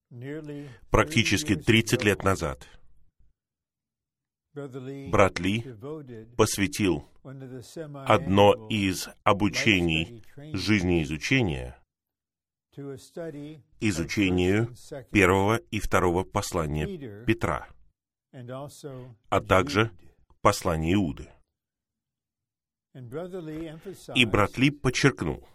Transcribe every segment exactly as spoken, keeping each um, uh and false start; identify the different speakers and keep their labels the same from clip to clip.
Speaker 1: Практически тридцать лет назад брат Ли посвятил одно из обучений жизнеизучения изучению первого и второго послания Петра, а также послания Иуды. И брат Ли подчеркнул,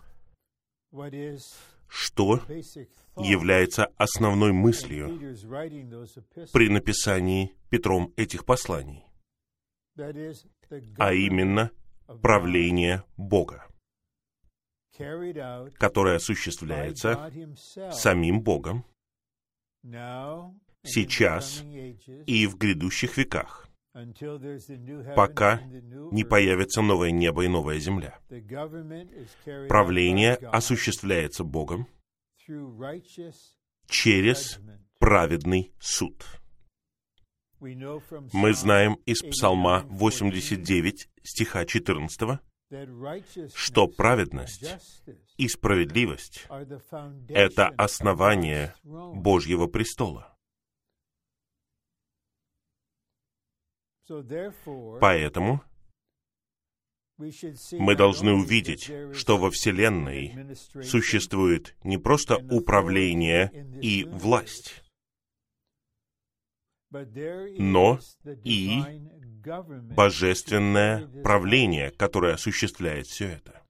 Speaker 1: что является основной мыслью при написании Петром этих посланий, а именно правление Бога, которое осуществляется самим Богом сейчас и в грядущих веках, пока не появится новое небо и новая земля. Правление осуществляется Богом через праведный суд. Мы знаем из Псалма восемьдесят девять, стиха четырнадцатого, что праведность и справедливость — это основание Божьего престола. Поэтому мы должны увидеть, что во Вселенной существует не просто управление и власть, но и божественное правление, которое осуществляет все это.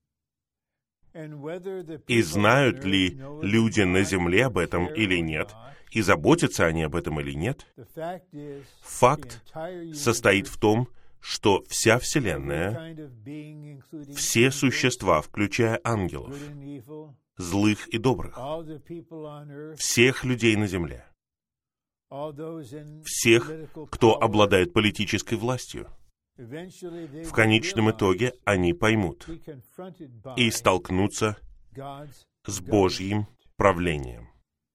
Speaker 1: И знают ли люди на земле об этом или нет, и заботятся они об этом или нет, факт состоит в том, что вся Вселенная, все существа, включая ангелов, злых и добрых, всех людей на земле, всех, кто обладает политической властью, в конечном итоге они поймут и столкнутся с Божьим правлением.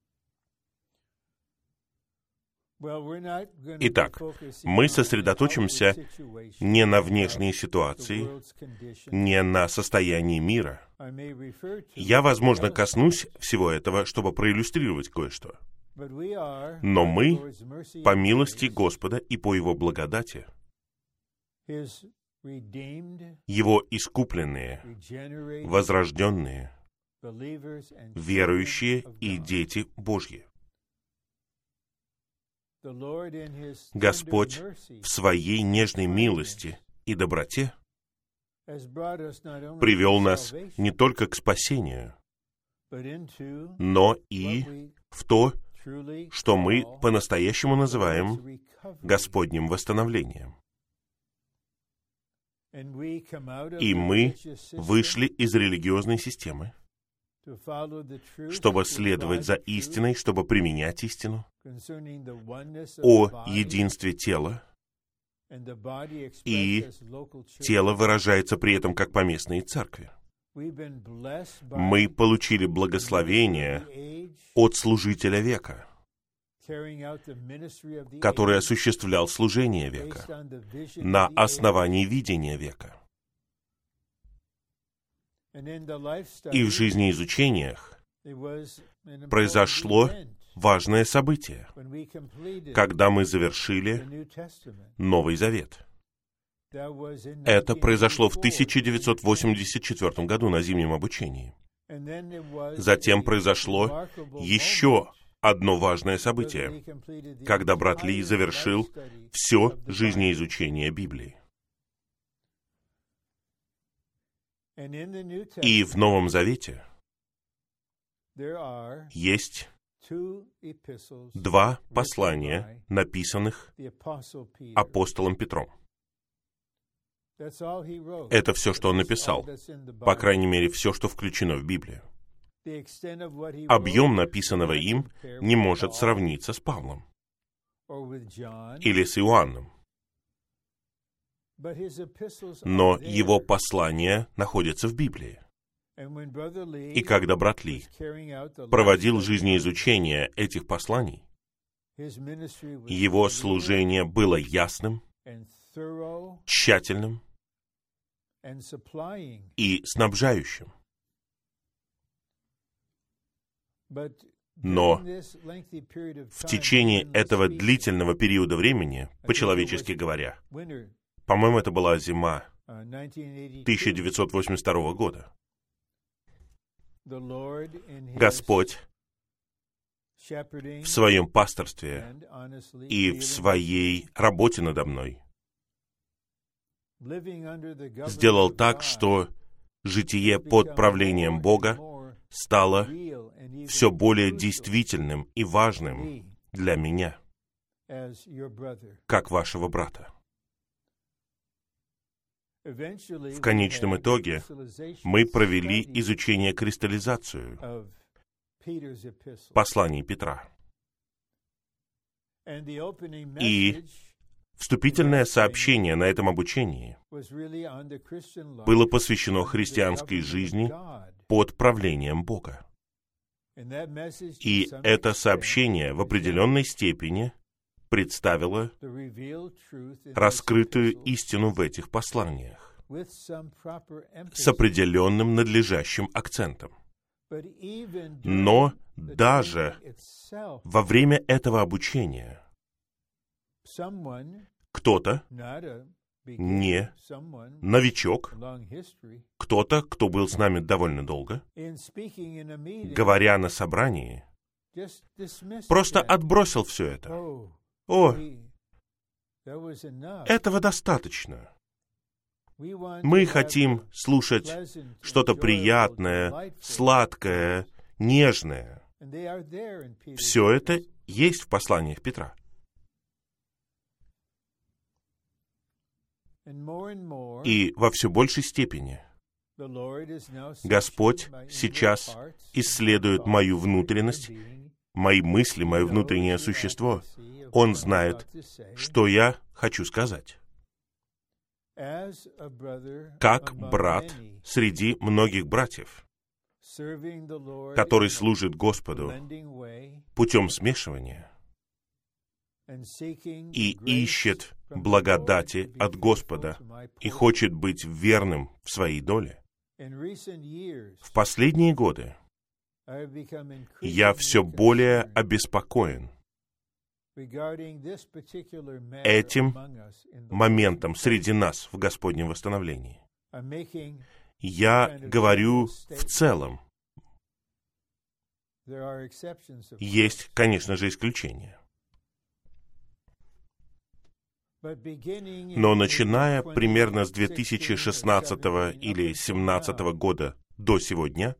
Speaker 1: Итак, мы сосредоточимся не на внешней ситуации, не на состоянии мира. Я, возможно, коснусь всего этого, чтобы проиллюстрировать кое-что. Но мы, по милости Господа и по Его благодати, Его искупленные, возрожденные, верующие и дети Божьи. Господь в Своей нежной милости и доброте привел нас не только к спасению, но и в то, что мы по-настоящему называем Господним восстановлением. И мы вышли из религиозной системы, чтобы следовать за истиной, чтобы применять истину о единстве тела, и тело выражается при этом как поместные церкви. Мы получили благословение от служителя века, который осуществлял служение века на основании видения века. И в жизнеизучениях произошло важное событие, когда мы завершили Новый Завет. Это произошло в тысяча девятьсот восемьдесят четвёртом году на зимнем обучении. Затем произошло еще одно важное событие, когда брат Ли завершил все жизнеизучение Библии. И в Новом Завете есть два послания, написанных апостолом Петром. Это все, что он написал, по крайней мере, все, что включено в Библию. Объем написанного им не может сравниться с Павлом или с Иоанном. Но его послания находятся в Библии. И когда брат Ли проводил жизнеизучение этих посланий, его служение было ясным, тщательным и снабжающим. Но в течение этого длительного периода времени, по-человечески говоря, по-моему, это была зима тысяча девятьсот восемьдесят второго года, Господь в своем пасторстве и в своей работе надо мной сделал так, что житие под правлением Бога стало все более действительным и важным для меня, как вашего брата. В конечном итоге мы провели изучение кристаллизацию посланий Петра. И вступительное сообщение на этом обучении было посвящено христианской жизни под правлением Бога. И это сообщение в определенной степени представило раскрытую истину в этих посланиях с определенным надлежащим акцентом. Но даже во время этого обучения кто-то, не новичок, кто-то, кто был с нами довольно долго, говоря на собрании, просто отбросил все это. О, этого достаточно. Мы хотим слушать что-то приятное, сладкое, нежное. Все это есть в посланиях Петра. И во все большей степени Господь сейчас исследует мою внутренность, мои мысли, мое внутреннее существо. Он знает, что я хочу сказать. Как брат среди многих братьев, который служит Господу путем смешивания и ищет благодати от Господа и хочет быть верным в своей доле. В последние годы я все более обеспокоен этим моментом среди нас в Господнем восстановлении. Я говорю в целом. Есть, конечно же, исключения. Но начиная примерно с две тысячи шестнадцатого или две тысячи семнадцатого года до сегодня,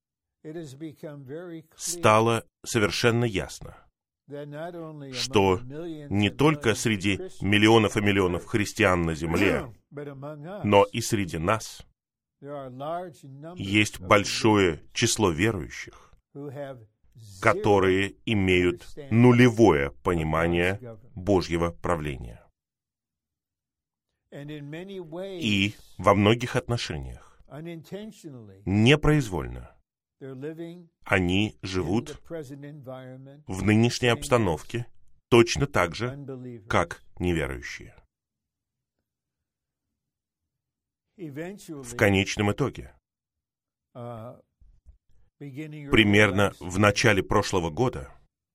Speaker 1: стало совершенно ясно, что не только среди миллионов и миллионов христиан на земле, но и среди нас есть большое число верующих, которые имеют нулевое понимание Божьего правления. И во многих отношениях, непроизвольно, они живут в нынешней обстановке точно так же, как неверующие. В конечном итоге, примерно в начале прошлого года,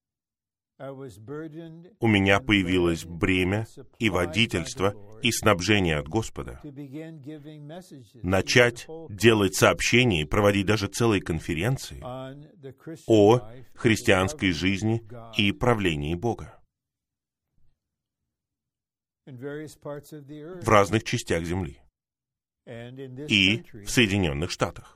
Speaker 1: у меня появилось бремя и водительство, и снабжение от Господа начать делать сообщения и проводить даже целые конференции о христианской жизни и правлении Бога в разных частях земли и в Соединенных Штатах.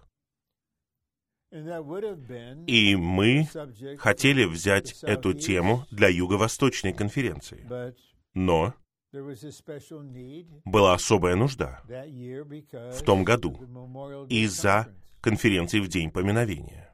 Speaker 1: И мы хотели взять эту тему для Юго-Восточной конференции. Но была особая нужда в том году из-за конференции в День поминовения.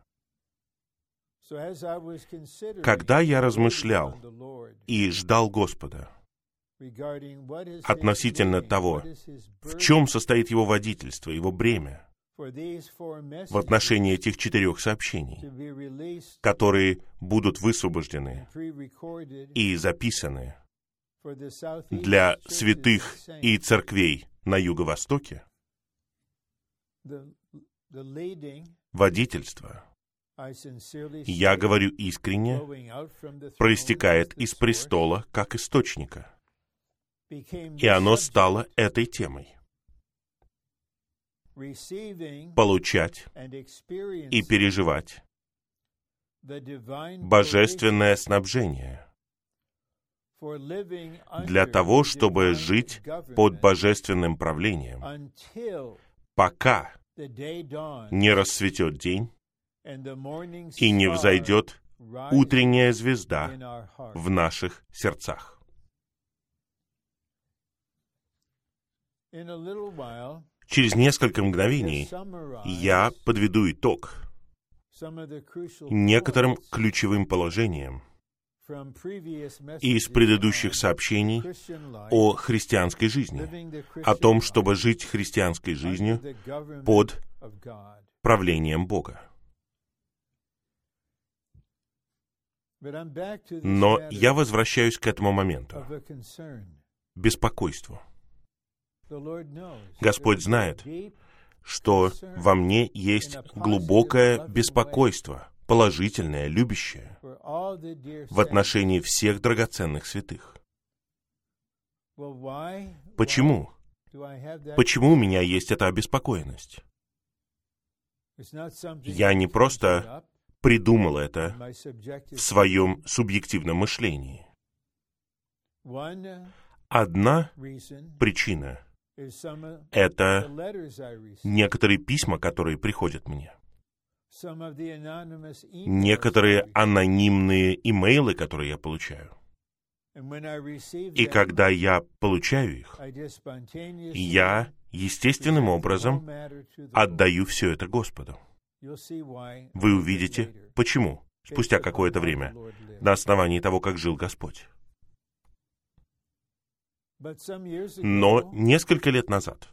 Speaker 1: Когда я размышлял и ждал Господа относительно того, в чем состоит Его водительство, Его бремя, в отношении этих четырех сообщений, которые будут высвобождены и записаны для святых и церквей на Юго-Востоке, водительство я говорю искренне, проистекает из престола как источника. И оно стало этой темой. Получать и переживать божественное снабжение для того, чтобы жить под божественным правлением, пока не расцветет день и не взойдет утренняя звезда в наших сердцах. Через несколько мгновений я подведу итог некоторым ключевым положениям из предыдущих сообщений о христианской жизни, о том, чтобы жить христианской жизнью под правлением Бога. Но я возвращаюсь к этому моменту. Беспокойству. Господь знает, что во мне есть глубокое беспокойство, положительное, любящее, в отношении всех драгоценных святых. Почему? Почему у меня есть эта обеспокоенность? Я не просто придумал это в своем субъективном мышлении. Одна причина — это некоторые письма, которые приходят мне. Некоторые анонимные имейлы, которые я получаю. И когда я получаю их, я естественным образом отдаю все это Господу. Вы увидите, почему, спустя какое-то время, на основании того, как жил Господь. Но несколько лет назад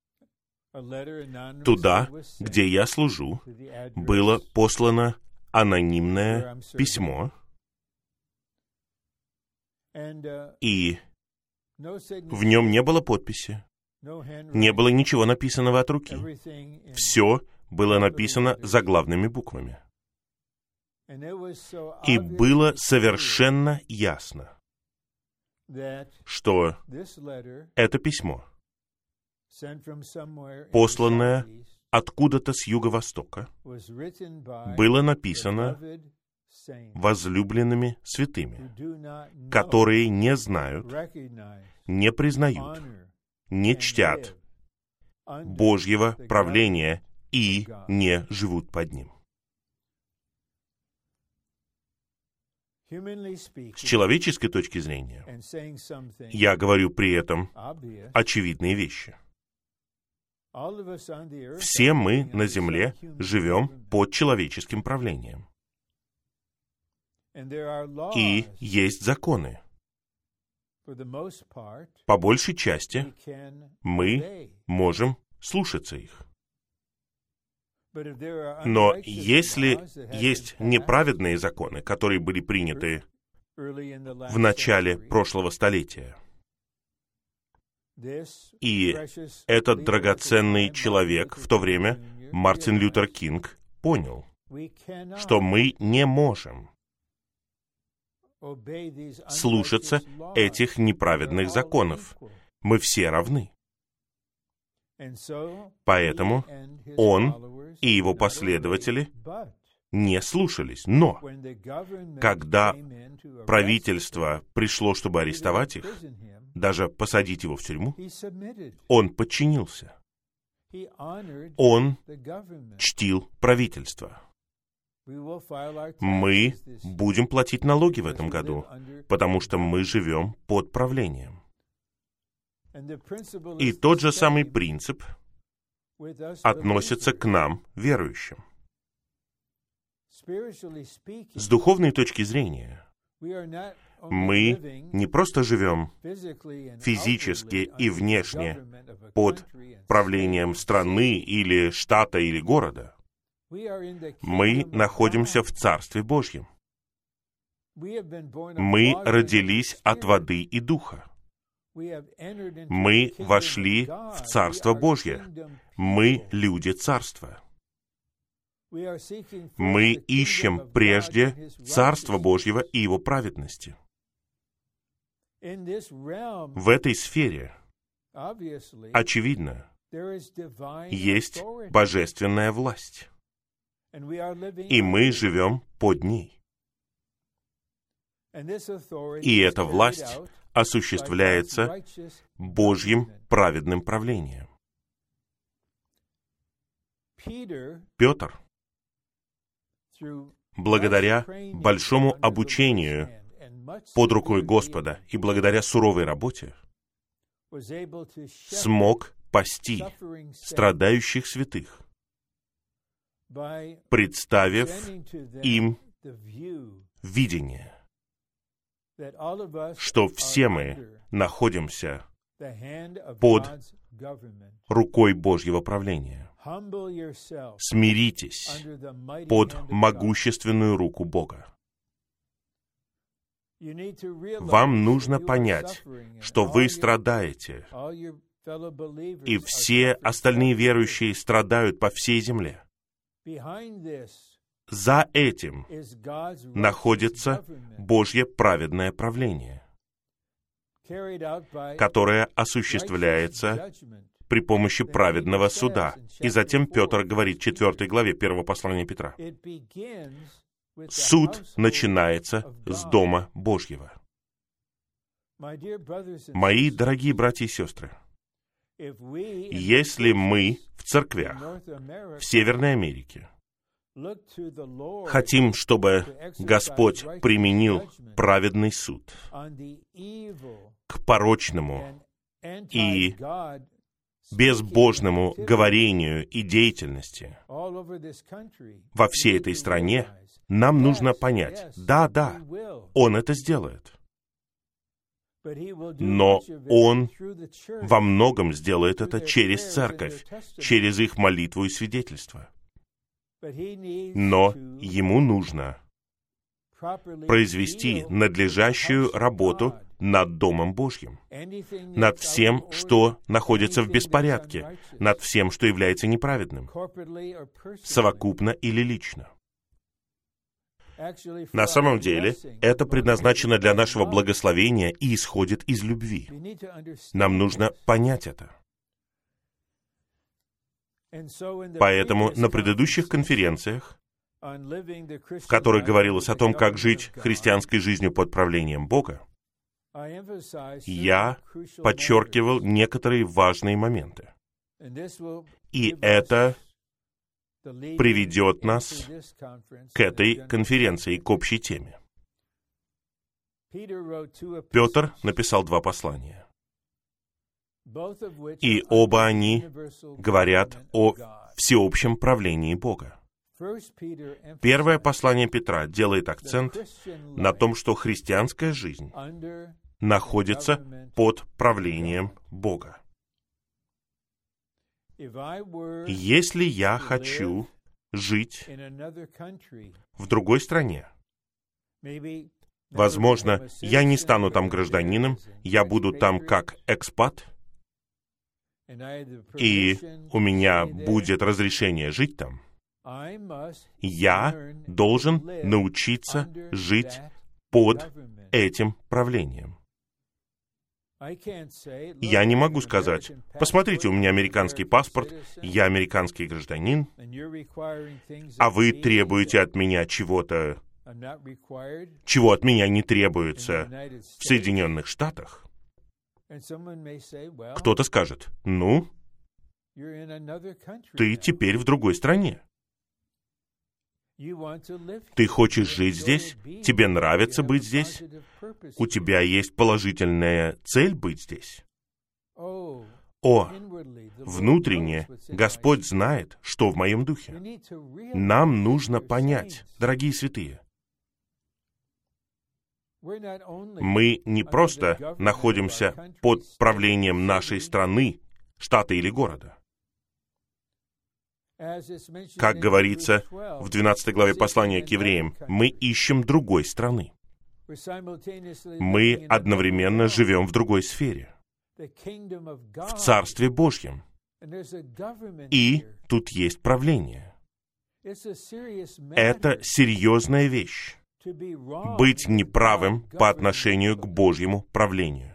Speaker 1: туда, где я служу, было послано анонимное письмо, и в нем не было подписи, не было ничего написанного от руки. Все было написано заглавными буквами. И было совершенно ясно, что это письмо, посланное откуда-то с юго-востока, было написано возлюбленными святыми, которые не знают, не признают, не чтят Божьего правления и не живут под ним. С человеческой точки зрения, я говорю при этом очевидные вещи. Все мы на земле живем под человеческим правлением. И есть законы. По большей части мы можем слушаться их. Но если есть неправедные законы, которые были приняты в начале прошлого столетия, и этот драгоценный человек в то время, Мартин Лютер Кинг, понял, что мы не можем слушаться этих неправедных законов. Мы все равны. Поэтому он и его последователи не слушались. Но когда правительство пришло, чтобы арестовать их, даже посадить его в тюрьму, он подчинился. Он чтил правительство. Мы будем платить налоги в этом году, потому что мы живем под правлением. И тот же самый принцип относится к нам, верующим. С духовной точки зрения, мы не просто живем физически и внешне под правлением страны или штата или города. Мы находимся в Царстве Божьем. Мы родились от воды и духа. Мы вошли в Царство Божье. Мы люди Царства. Мы ищем прежде Царство Божьего и Его праведности. В этой сфере, очевидно, есть божественная власть, и мы живем под ней. И эта власть осуществляется Божьим праведным правлением. Петр, благодаря большому обучению под рукой Господа и благодаря суровой работе, смог пасти страдающих святых, представив им видение, что все мы находимся под рукой Божьего правления. Смиритесь под могущественную руку Бога. Вам нужно понять, что вы страдаете, и все остальные верующие страдают по всей земле. За этим находится Божье праведное правление, которое осуществляется при помощи праведного суда. И затем Петр говорит в четвёртой главе первого послания Петра: суд начинается с Дома Божьего. Мои дорогие братья и сестры, если мы в церквях в Северной Америке хотим, чтобы Господь применил праведный суд к порочному и безбожному говорению и деятельности во всей этой стране, нам нужно понять: да, да, Он это сделает. Но Он во многом сделает это через церковь, через их молитву и свидетельство. Но Ему нужно произвести надлежащую работу над Домом Божьим, над всем, что находится в беспорядке, над всем, что является неправедным, совокупно или лично. На самом деле, это предназначено для нашего благословения и исходит из любви. Нам нужно понять это. Поэтому на предыдущих конференциях, в которых говорилось о том, как жить христианской жизнью под правлением Бога, я подчеркивал некоторые важные моменты. И это приведет нас к этой конференции, к общей теме. Петр написал два послания, и оба они говорят о всеобщем правлении Бога. Первое послание Петра делает акцент на том, что христианская жизнь находится под правлением Бога. Если я хочу жить в другой стране, возможно, я не стану там гражданином, я буду там как экспат, и у меня будет разрешение жить там, я должен научиться жить под этим правлением. Я не могу сказать: посмотрите, у меня американский паспорт, я американский гражданин, а вы требуете от меня чего-то, чего от меня не требуется в Соединенных Штатах. Кто-то скажет: ну, ты теперь в другой стране. Ты хочешь жить здесь? Тебе нравится быть здесь? У тебя есть положительная цель быть здесь? О, внутренне Господь знает, что в моем духе. Нам нужно понять, дорогие святые, мы не просто находимся под правлением нашей страны, штата или города. Как говорится в двенадцатой главе послания к евреям, мы ищем другой страны. Мы одновременно живем в другой сфере, в Царстве Божьем. И тут есть правление. Это серьезная вещь — быть неправым по отношению к Божьему правлению.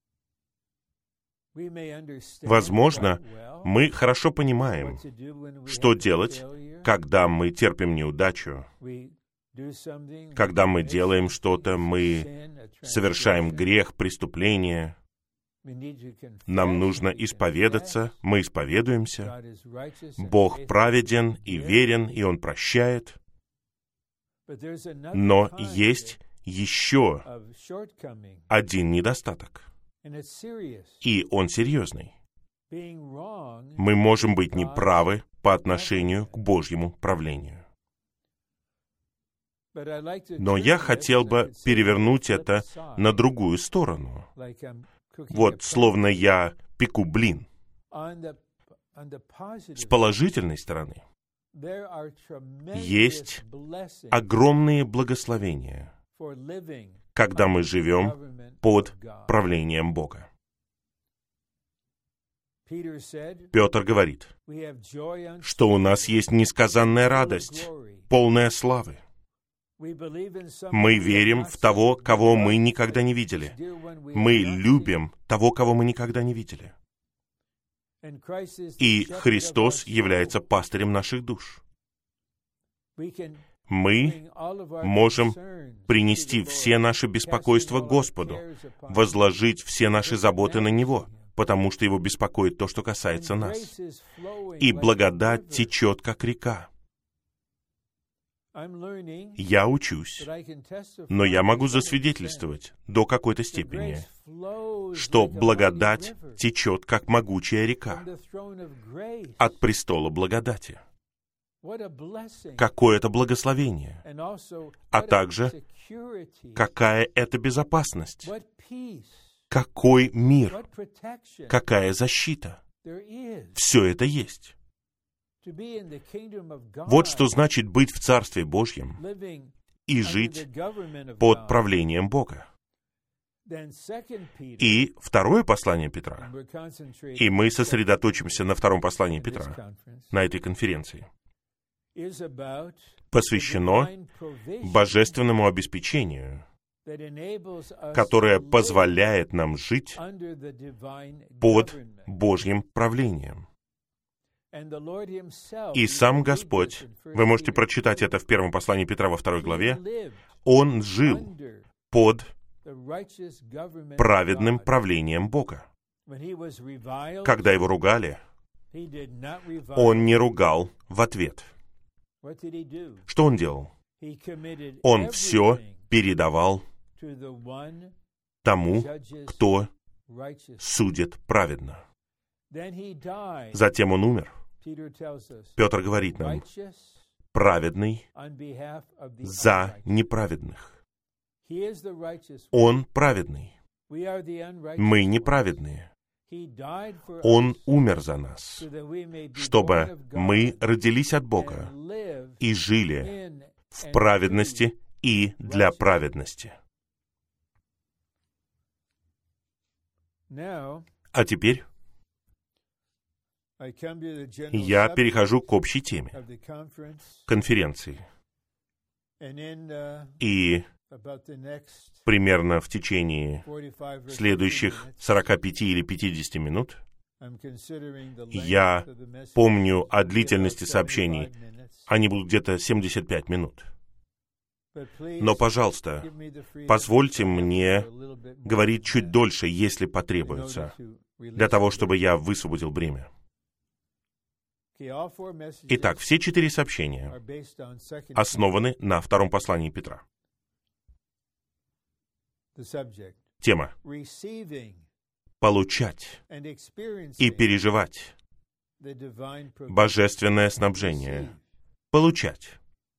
Speaker 1: Возможно, мы хорошо понимаем, что делать, когда мы терпим неудачу, когда мы делаем что-то, мы совершаем грех, преступление. Нам нужно исповедаться, мы исповедуемся. Бог праведен и верен, и Он прощает. Но есть еще один недостаток, и он серьезный. Мы можем быть неправы по отношению к Божьему правлению. Но я хотел бы перевернуть это на другую сторону. Вот, словно я пеку блин. С положительной стороны есть огромные благословения, когда мы живем под правлением Бога. Петр говорит, что у нас есть несказанная радость, полная славы. Мы верим в того, кого мы никогда не видели. Мы любим того, кого мы никогда не видели. И Христос является пастырем наших душ. Мы можем принести все наши беспокойства Господу, возложить все наши заботы на Него, потому что Его беспокоит то, что касается нас. И благодать течет, как река. Я учусь, но я могу засвидетельствовать до какой-то степени, что благодать течет, как могучая река, от престола благодати. Какое это благословение, а также какая это безопасность, какой мир, какая защита. Все это есть. Вот что значит быть в Царстве Божьем и жить под правлением Бога. И второе послание Петра, и мы сосредоточимся на втором послании Петра, на этой конференции, посвящено божественному обеспечению, которое позволяет нам жить под Божьим правлением. И сам Господь, вы можете прочитать это в первом послании Петра во второй главе, Он жил под праведным правлением Бога. Когда Его ругали, Он не ругал в ответ. Что Он делал? Он все передавал тому, кто судит праведно. Затем Он умер. Петр говорит нам, праведный за неправедных. Он праведный. Мы неправедные. Он умер за нас, чтобы мы родились от Бога и жили в праведности и для праведности. А теперь я перехожу к общей теме конференции. И примерно в течение следующих сорока пяти или пятидесяти минут я помню о длительности сообщений. Они будут где-то семьдесят пять минут. Но, пожалуйста, позвольте мне говорить чуть дольше, если потребуется, для того, чтобы я высвободил время. Итак, все четыре сообщения основаны на втором послании Петра. Тема — получать и переживать божественное снабжение. Получать.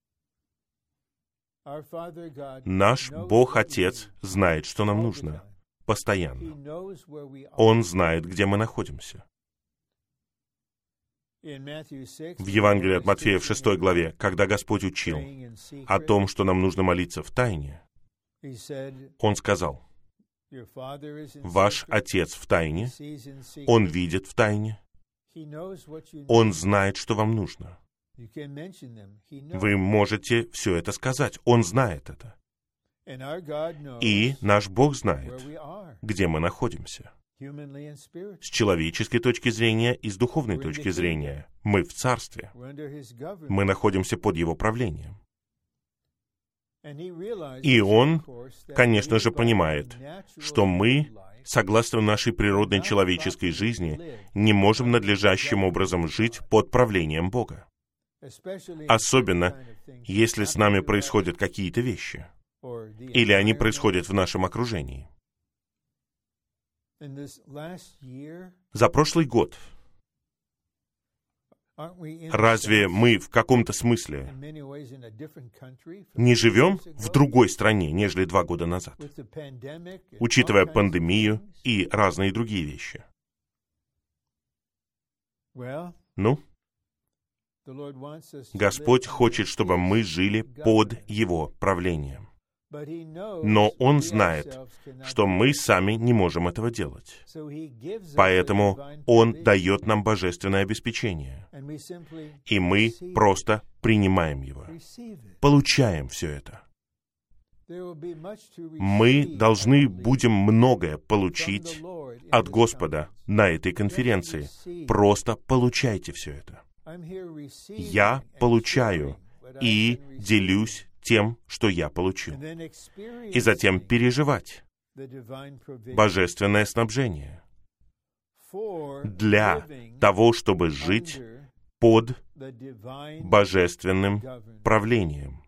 Speaker 1: Наш Бог-Отец знает, что нам нужно. Постоянно. Он знает, где мы находимся. В Евангелии от Матфея в шестой главе, когда Господь учил о том, что нам нужно молиться в тайне, Он сказал, «Ваш Отец в тайне, Он видит в тайне, Он знает, что вам нужно». Вы можете все это сказать. Он знает это. И наш Бог знает, где мы находимся. С человеческой точки зрения и с духовной точки зрения. Мы в Царстве. Мы находимся под Его правлением. И Он, конечно же, понимает, что мы, согласно нашей природной человеческой жизни, не можем надлежащим образом жить под правлением Бога. Особенно, если с нами происходят какие-то вещи, или они происходят в нашем окружении. За прошлый год разве мы в каком-то смысле не живем в другой стране, нежели два года назад, учитывая пандемию и разные другие вещи? Ну, Господь хочет, чтобы мы жили под Его правлением. Но Он знает, что мы сами не можем этого делать. Поэтому Он дает нам божественное обеспечение. И мы просто принимаем его. Получаем все это. Мы должны будем многое получить от Господа на этой конференции. Просто получайте все это. Я получаю и делюсь тем, что я получил. И затем переживать божественное снабжение для того, чтобы жить под божественным правлением.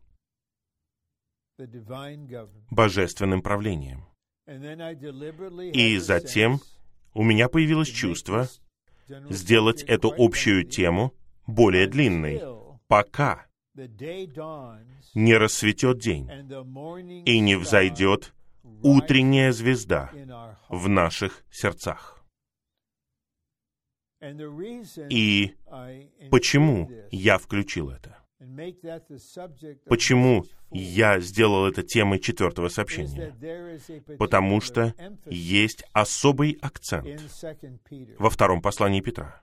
Speaker 1: Божественным правлением. И затем у меня появилось чувство сделать эту общую тему более длинной, пока не рассветет день и не взойдет утренняя звезда в наших сердцах. И почему я включил это? Почему я сделал это темой четвертого сообщения? Потому что есть особый акцент во втором послании Петра.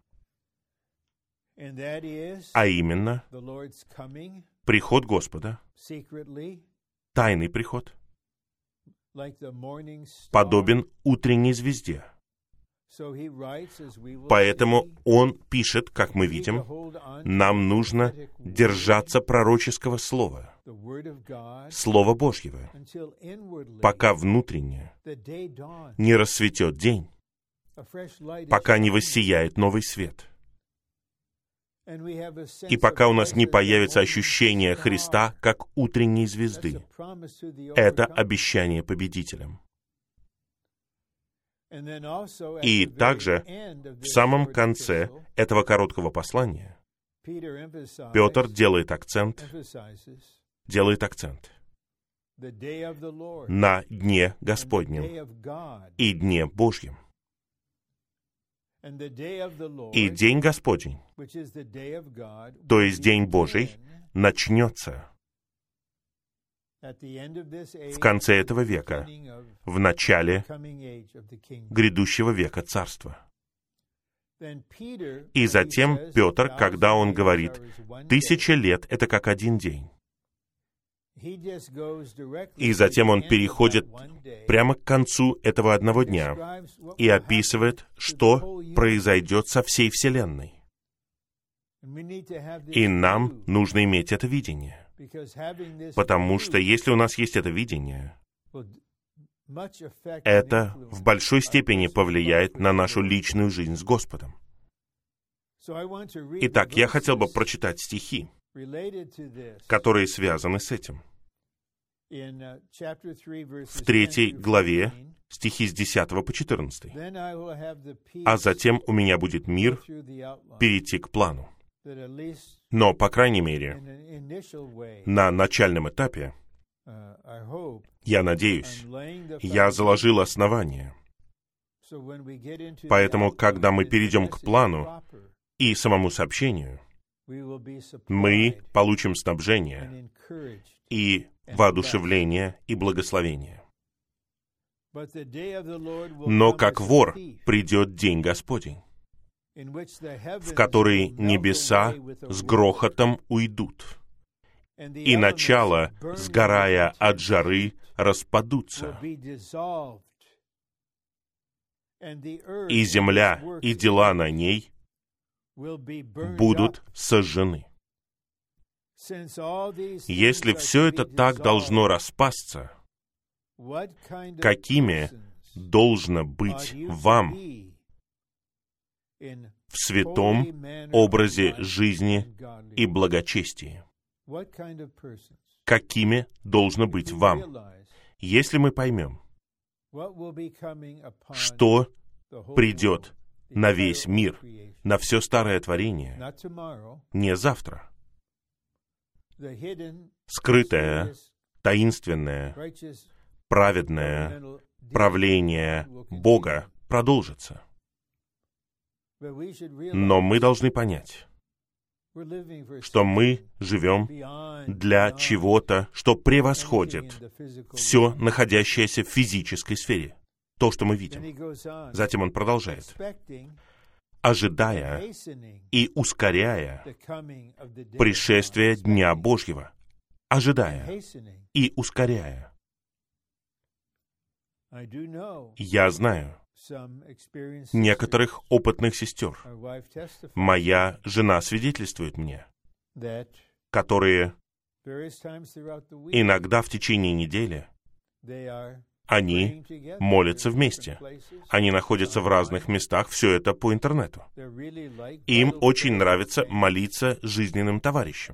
Speaker 1: А именно, приход Господа, тайный приход, подобен утренней звезде. Поэтому он пишет, как мы видим, нам нужно держаться пророческого слова, Слова Божьего, пока внутренне не рассветет день, пока не воссияет новый свет. И пока у нас не появится ощущение Христа как утренней звезды. Это обещание победителям. И также в самом конце этого короткого послания Петр делает акцент, делает акцент на дне Господнем и дне Божьем. И день Господень, то есть день Божий, начнется в конце этого века, в начале грядущего века Царства. И затем Петр, когда он говорит, «Тысяча лет — это как один день». И затем он переходит прямо к концу этого одного дня и описывает, что произойдет со всей Вселенной. И нам нужно иметь это видение. Потому что если у нас есть это видение, это в большой степени повлияет на нашу личную жизнь с Господом. Итак, я хотел бы прочитать стихи, которые связаны с этим. В третьей главе, стихи с десятого по четырнадцатый. «А затем у меня будет мир перейти к плану». Но, по крайней мере, на начальном этапе, я надеюсь, я заложил основание. Поэтому, когда мы перейдем к плану и самому сообщению, мы получим снабжение и воодушевление и благословение. Но как вор придет день Господень. в который небеса с грохотом уйдут, и начало, сгорая от жары, распадутся, и земля, и дела на ней будут сожжены. Если все это так должно распасться, какими должно быть вам в святом образе жизни и благочестии? Какими должно быть вам? Если мы поймем, что придет на весь мир, на все старое творение, не завтра. Скрытое, таинственное, праведное правление Бога продолжится. Но мы должны понять, что мы живем для чего-то, что превосходит все, находящееся в физической сфере, то, что мы видим. Затем он продолжает, ожидая и ускоряя пришествие Дня Божьего, ожидая и ускоряя. Я знаю некоторых опытных сестер. Моя жена свидетельствует мне, которые иногда в течение недели они молятся вместе. Они находятся в разных местах, все это по интернету. Им очень нравится молиться с жизненным товарищем.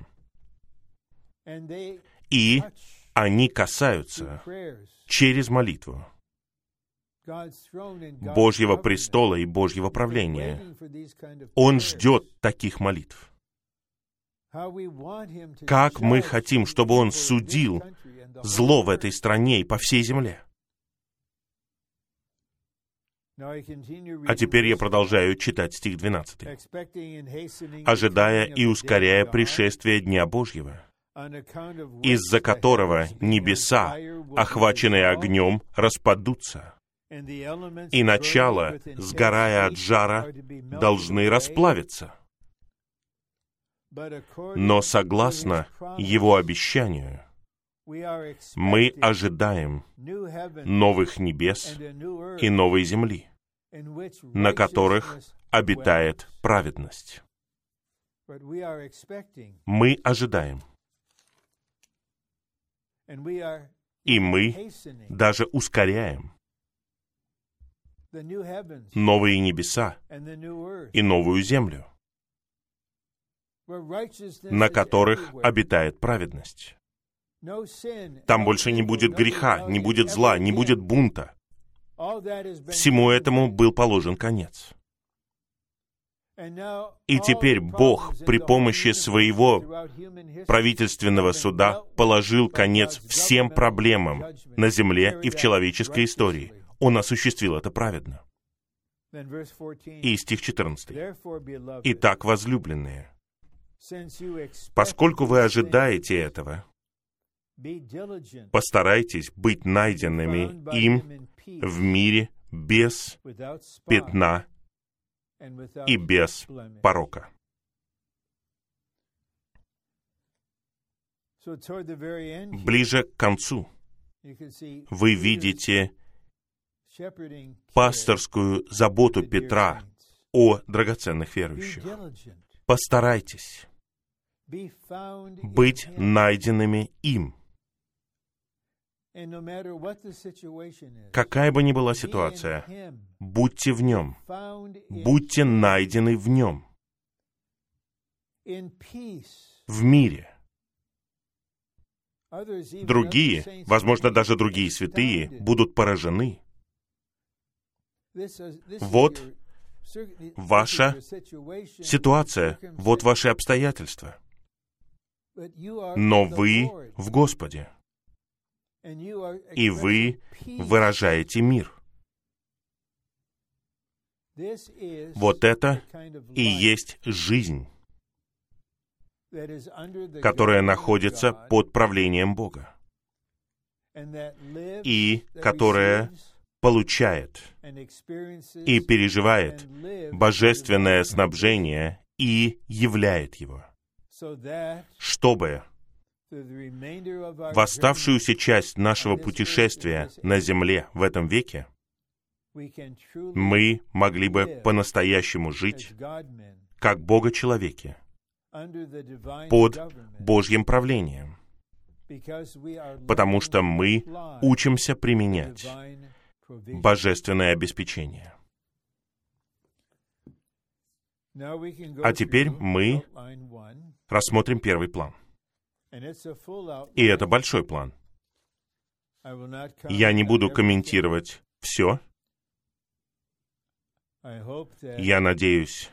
Speaker 1: И они касаются через молитву Божьего престола и Божьего правления. Он ждет таких молитв. Как мы хотим, чтобы Он судил зло в этой стране и по всей земле. А теперь я продолжаю читать стих двенадцатый. «Ожидая и ускоряя пришествие Дня Божьего, из-за которого небеса, охваченные огнем, распадутся, и начало, сгорая от жара, должны расплавиться. Но согласно Его обещанию, мы ожидаем новых небес и новой земли, на которых обитает праведность». Мы ожидаем. И мы даже ускоряем новые небеса и новую землю, на которых обитает праведность. Там больше не будет греха, не будет зла, не будет бунта. Всему этому был положен конец. И теперь Бог при помощи своего правительственного суда положил конец всем проблемам на земле и в человеческой истории. Он осуществил это праведно. И стих четырнадцатый. «Итак, возлюбленные, поскольку вы ожидаете этого, постарайтесь быть найденными им в мире без пятна и без порока». Ближе к концу вы видите пасторскую заботу Петра о драгоценных верующих. Постарайтесь быть найденными им. Какая бы ни была ситуация, будьте в нем, будьте найдены в нем, в мире. Другие, возможно, даже другие святые, будут поражены. Вот ваша ситуация, вот ваши обстоятельства. Но вы в Господе, и вы выражаете мир. Вот это и есть жизнь, которая находится под правлением Бога, и которая получает и переживает божественное снабжение и являет его, чтобы в оставшуюся часть нашего путешествия на земле в этом веке мы могли бы по-настоящему жить как Бога-человеки под Божьим правлением, потому что мы учимся применять божественное обеспечение. А теперь мы рассмотрим первый план. И это большой план. Я не буду комментировать все. Я надеюсь,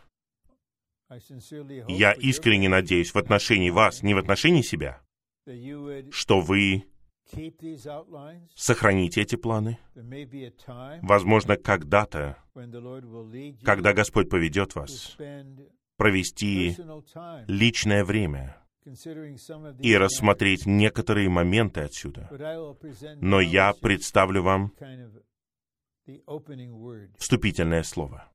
Speaker 1: я искренне надеюсь в отношении вас, не в отношении себя, что вы сохраните эти планы. Возможно, когда-то, когда Господь поведет вас, провести личное время и рассмотреть некоторые моменты отсюда. Но я представлю вам вступительное слово.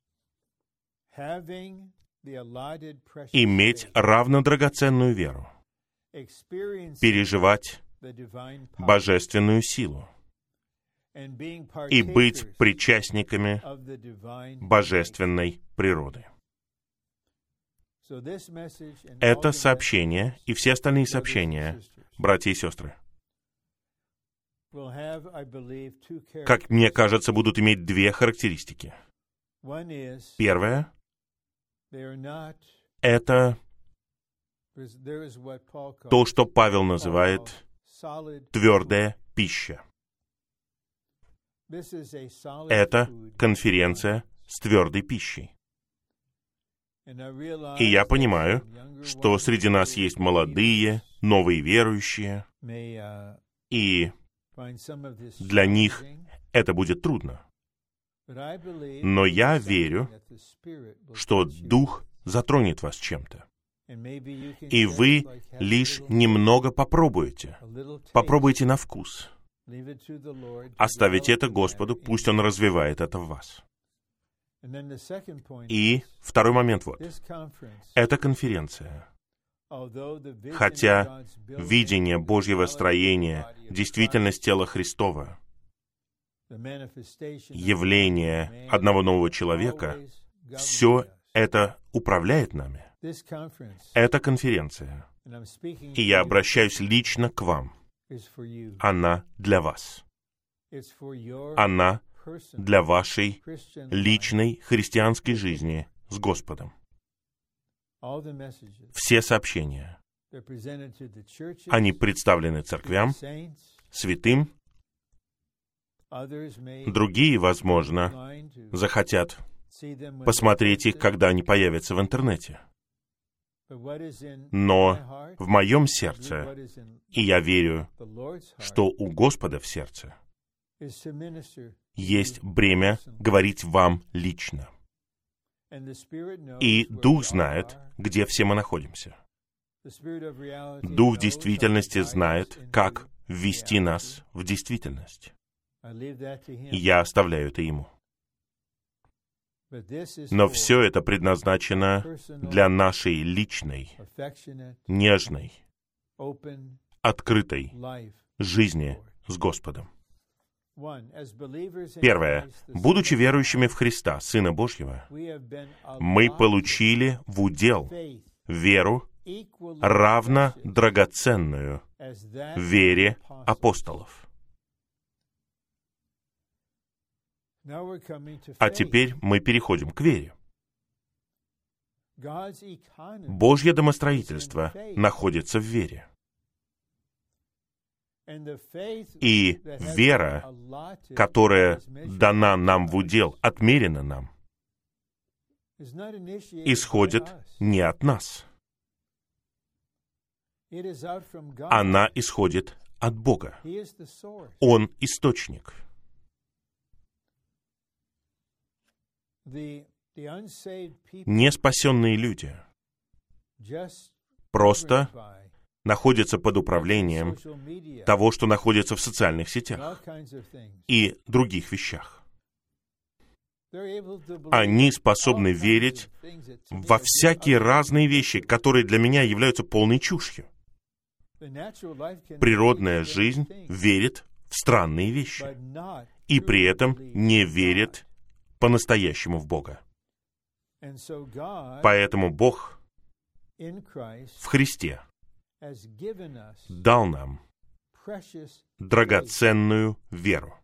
Speaker 1: Иметь равнодрагоценную веру, переживать божественную силу и быть причастниками божественной природы. Это сообщение и все остальные сообщения, братья и сестры, как мне кажется, будут иметь две характеристики. Первое — это то, что Павел называет твердая пища. Это конференция с твердой пищей. И я понимаю, что среди нас есть молодые, новые верующие, и для них это будет трудно. Но я верю, что Дух затронет вас чем-то. И вы лишь немного попробуете. Попробуйте на вкус. Оставите это Господу, пусть Он развивает это в вас. И второй момент вот. Эта конференция, хотя видение Божьего строения, действительность тела Христова, явление одного нового человека, все это управляет нами. Эта конференция, и я обращаюсь лично к вам, она для вас. Она для вашей личной христианской жизни с Господом. Все сообщения, они представлены церквям, святым. Другие, возможно, захотят посмотреть их, когда они появятся в интернете. Но в моем сердце, и я верю, что у Господа в сердце есть бремя говорить вам лично. И Дух знает, где все мы находимся. Дух действительности знает, как ввести нас в действительность. И я оставляю это Ему. Но все это предназначено для нашей личной, нежной, открытой жизни с Господом. Первое. Будучи верующими в Христа, Сына Божьего, мы получили в удел веру, равно драгоценную вере апостолов. А теперь мы переходим к вере. Божье домостроительство находится в вере. И вера, которая дана нам в удел, отмерена нам, исходит не от нас. Она исходит от Бога. Он источник. Неспасенные люди просто находятся под управлением того, что находится в социальных сетях и других вещах. Они способны верить во всякие разные вещи, которые для меня являются полной чушью. Природная жизнь верит в странные вещи и при этом не верит по-настоящему в Бога. Поэтому Бог в Христе дал нам драгоценную веру,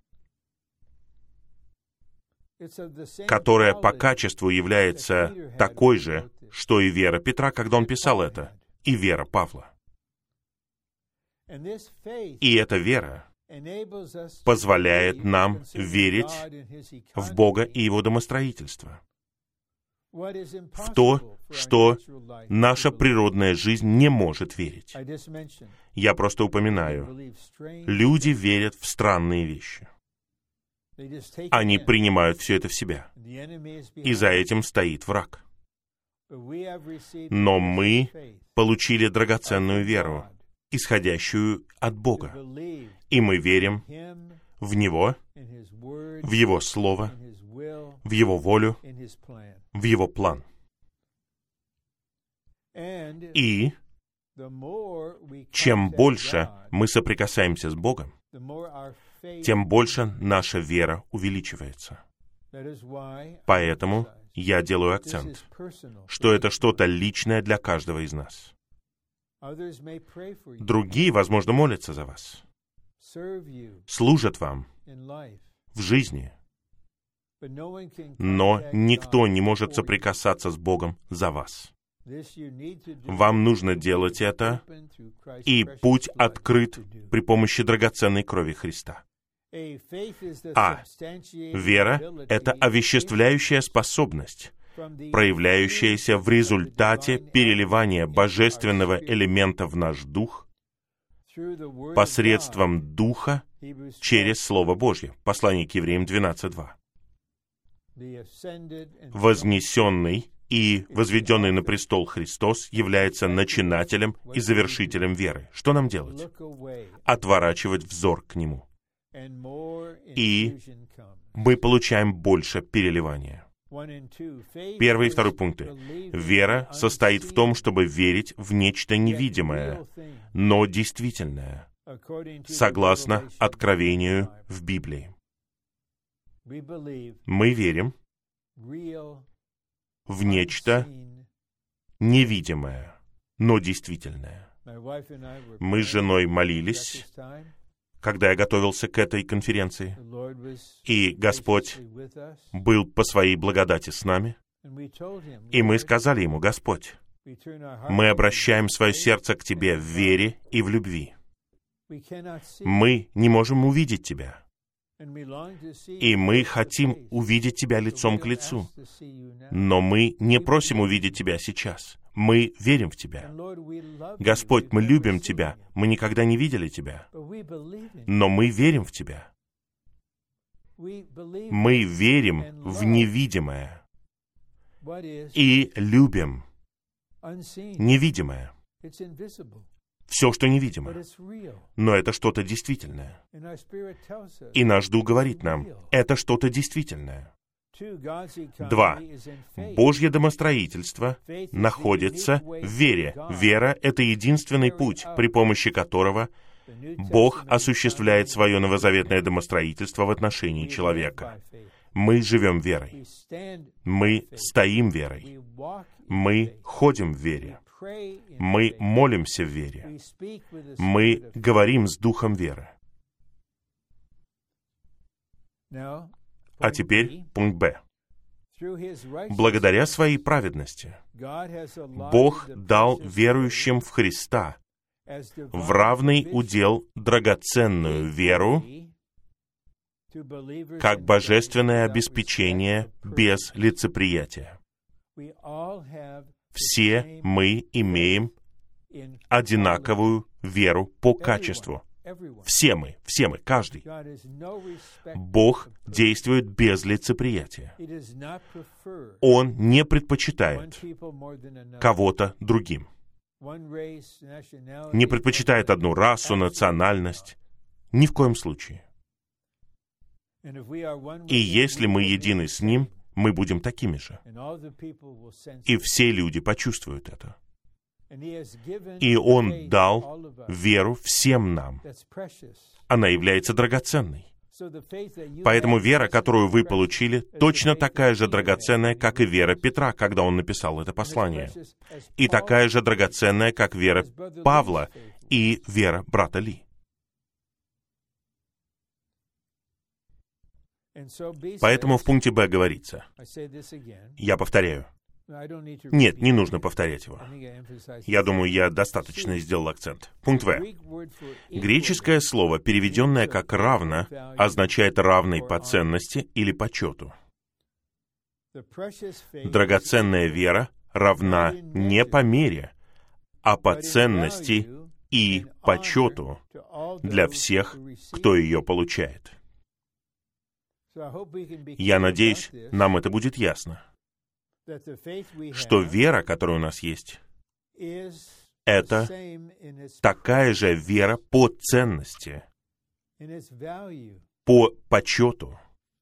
Speaker 1: которая по качеству является такой же, что и вера Петра, когда он писал это, и вера Павла. И эта вера позволяет нам верить в Бога и Его домостроительство, в то, что наша природная жизнь не может верить. Я просто упоминаю, люди верят в странные вещи. Они принимают все это в себя. И за этим стоит враг. Но мы получили драгоценную веру, исходящую от Бога. И мы верим в Него, в Его Слово, в Его волю, в Его план. И чем больше мы соприкасаемся с Богом, тем больше наша вера увеличивается. Поэтому я делаю акцент, что это что-то личное для каждого из нас. Другие, возможно, молятся за вас, служат вам в жизни, но никто не может соприкасаться с Богом за вас. Вам нужно делать это, и путь открыт при помощи драгоценной крови Христа. А вера — это овеществляющая способность, проявляющаяся в результате переливания божественного элемента в наш дух посредством Духа через Слово Божье. Послание к Евреям двенадцать два. Вознесенный и возведенный на престол Христос является начинателем и завершителем веры. Что нам делать? Отворачивать взор к Нему. И мы получаем больше переливания. Первый и второй пункты. Вера состоит в том, чтобы верить в нечто невидимое, но действительное, согласно откровению в Библии. Мы верим в нечто невидимое, но действительное. Мы с женой молились, когда я готовился к этой конференции, и Господь был по своей благодати с нами, и мы сказали Ему: Господь, мы обращаем свое сердце к Тебе в вере и в любви. Мы не можем увидеть Тебя, и мы хотим увидеть Тебя лицом к лицу, но мы не просим увидеть Тебя сейчас. Мы верим в Тебя. Господь, мы любим Тебя. Мы никогда не видели Тебя, но мы верим в Тебя. Мы верим в невидимое и любим невидимое. Все, что невидимо. Но это что-то действительное. И наш Дух говорит нам, это что-то действительное. Два. Божье домостроительство находится в вере. Вера — это единственный путь, при помощи которого Бог осуществляет свое новозаветное домостроительство в отношении человека. Мы живем верой. Мы стоим верой. Мы ходим в вере. Мы молимся в вере. Мы говорим с Духом веры. А теперь пункт Б. Благодаря своей праведности Бог дал верующим в Христа в равный удел драгоценную веру как божественное обеспечение без лицеприятия. Все мы имеем одинаковую веру по качеству. Все мы, все мы, каждый. Бог действует без лицеприятия. Он не предпочитает кого-то другим. не предпочитает одну расу, национальность. Ни в коем случае. И если мы едины с Ним, мы будем такими же. И все люди почувствуют это. И Он дал веру всем нам. Она является драгоценной. Поэтому вера, которую вы получили, точно такая же драгоценная, как и вера Петра, когда он написал это послание. И такая же драгоценная, как вера Павла и вера брата Ли. Поэтому в пункте Б говорится, я повторяю. Нет, не нужно повторять его. Я думаю, я достаточно сделал акцент. Пункт В. Греческое слово, переведенное как «равно», означает «равный по ценности» или «почету». Драгоценная вера равна не по мере, а по ценности и почету для всех, кто ее получает. Я надеюсь, нам это будет ясно, что вера, которая у нас есть, это такая же вера по ценности, по почету.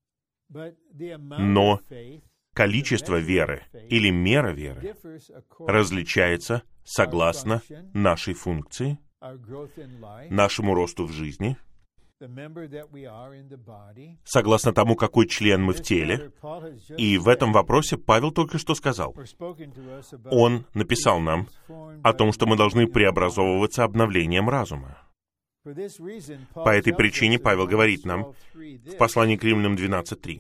Speaker 1: Но количество веры или мера веры различается согласно нашей функции, нашему росту в жизни, согласно тому, какой член мы в теле. И в этом вопросе Павел только что сказал. Он написал нам о том, что мы должны преобразовываться обновлением разума. По этой причине Павел говорит нам в послании к Римлянам двенадцать три.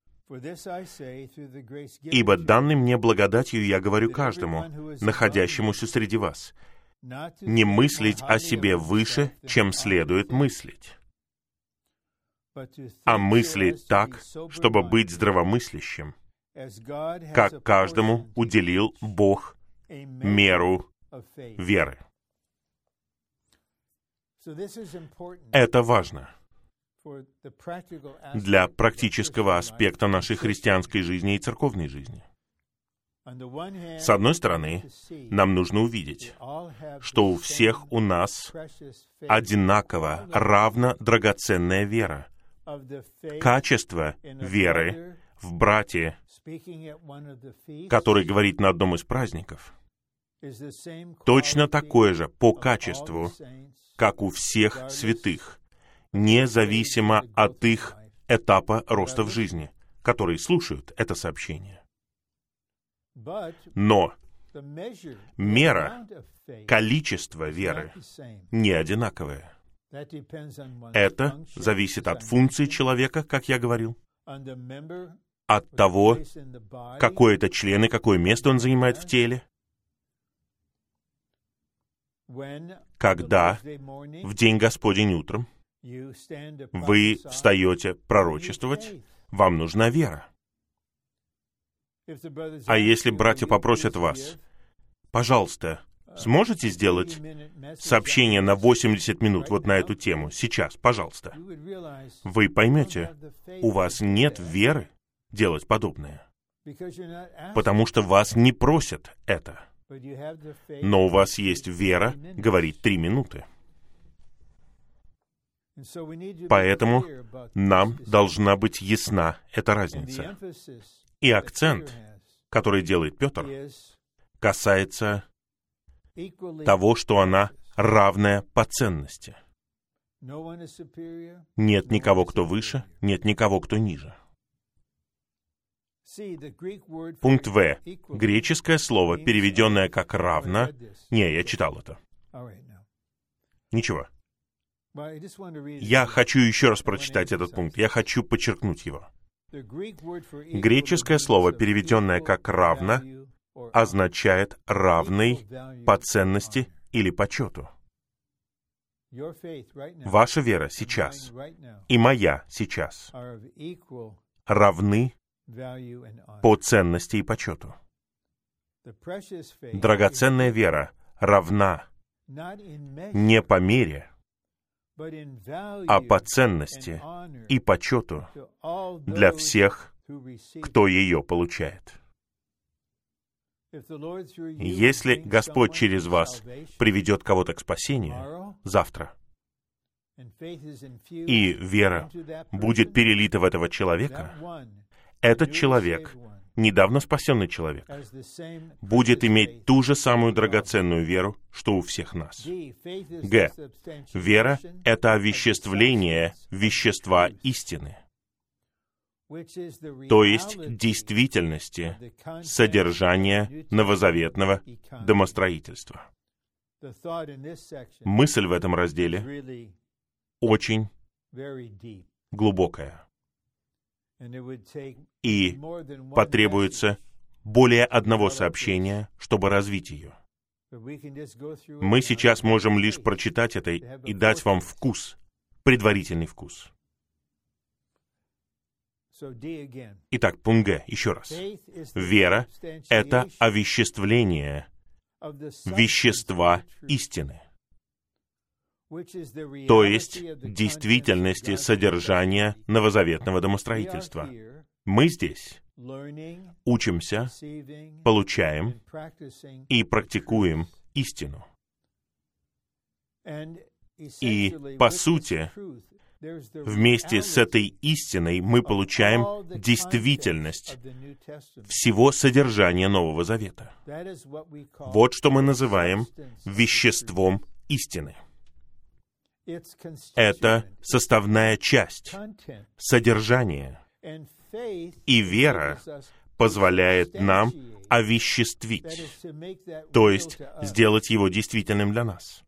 Speaker 1: «Ибо данной мне благодатью я говорю каждому, находящемуся среди вас, не мыслить о себе выше, чем следует мыслить, а мыслить так, чтобы быть здравомыслящим, как каждому уделил Бог меру веры». Это важно для практического аспекта нашей христианской жизни и церковной жизни. С одной стороны, нам нужно увидеть, что у всех у нас одинаково равно драгоценная вера, качество веры в брате, который говорит на одном из праздников, точно такое же по качеству, как у всех святых, независимо от их этапа роста в жизни, которые слушают это сообщение. Но мера, количество веры не одинаковое. Это зависит от функции человека, как я говорил, от того, какой это член и какое место он занимает в теле. Когда в день Господень утром вы встаете пророчествовать, вам нужна вера. А если братья попросят вас, пожалуйста, сможете сделать сообщение на восемьдесят минут вот на эту тему сейчас, пожалуйста, вы поймете, у вас нет веры делать подобное, потому что вас не просят это. Но у вас есть вера говорить три минуты. Поэтому нам должна быть ясна эта разница. И акцент, который делает Петр, касается того, что она равная по ценности. Нет никого, кто выше, нет никого, кто ниже. Пункт В. Греческое слово, переведенное как «равно». Не, я читал это. Ничего. Я хочу еще раз прочитать этот пункт. Я хочу подчеркнуть его. Греческое слово, переведенное как «равно», означает «равный» по ценности или почету. Ваша вера сейчас и моя сейчас равны по ценности и почету. Драгоценная вера равна не по мере, а по ценности и почету для всех, кто ее получает. Если Господь через вас приведет кого-то к спасению завтра, и вера будет перелита в этого человека, этот человек, недавно спасенный человек, будет иметь ту же самую драгоценную веру, что у всех нас. Г. Вера — это овеществление вещества истины, то есть действительности, содержания новозаветного домостроительства. Мысль в этом разделе очень глубокая, и потребуется более одного сообщения, чтобы развить ее. Мы сейчас можем лишь прочитать это и дать вам вкус, предварительный вкус. Итак, пункт Г, еще раз. Вера — это овеществление вещества истины, то есть действительности содержания новозаветного домостроительства. Мы здесь учимся, получаем и практикуем истину. И, по сути, вместе с этой истиной мы получаем действительность всего содержания Нового Завета. Вот что мы называем веществом истины. Это составная часть, содержание. И вера позволяет нам овеществить, то есть сделать его действительным для нас.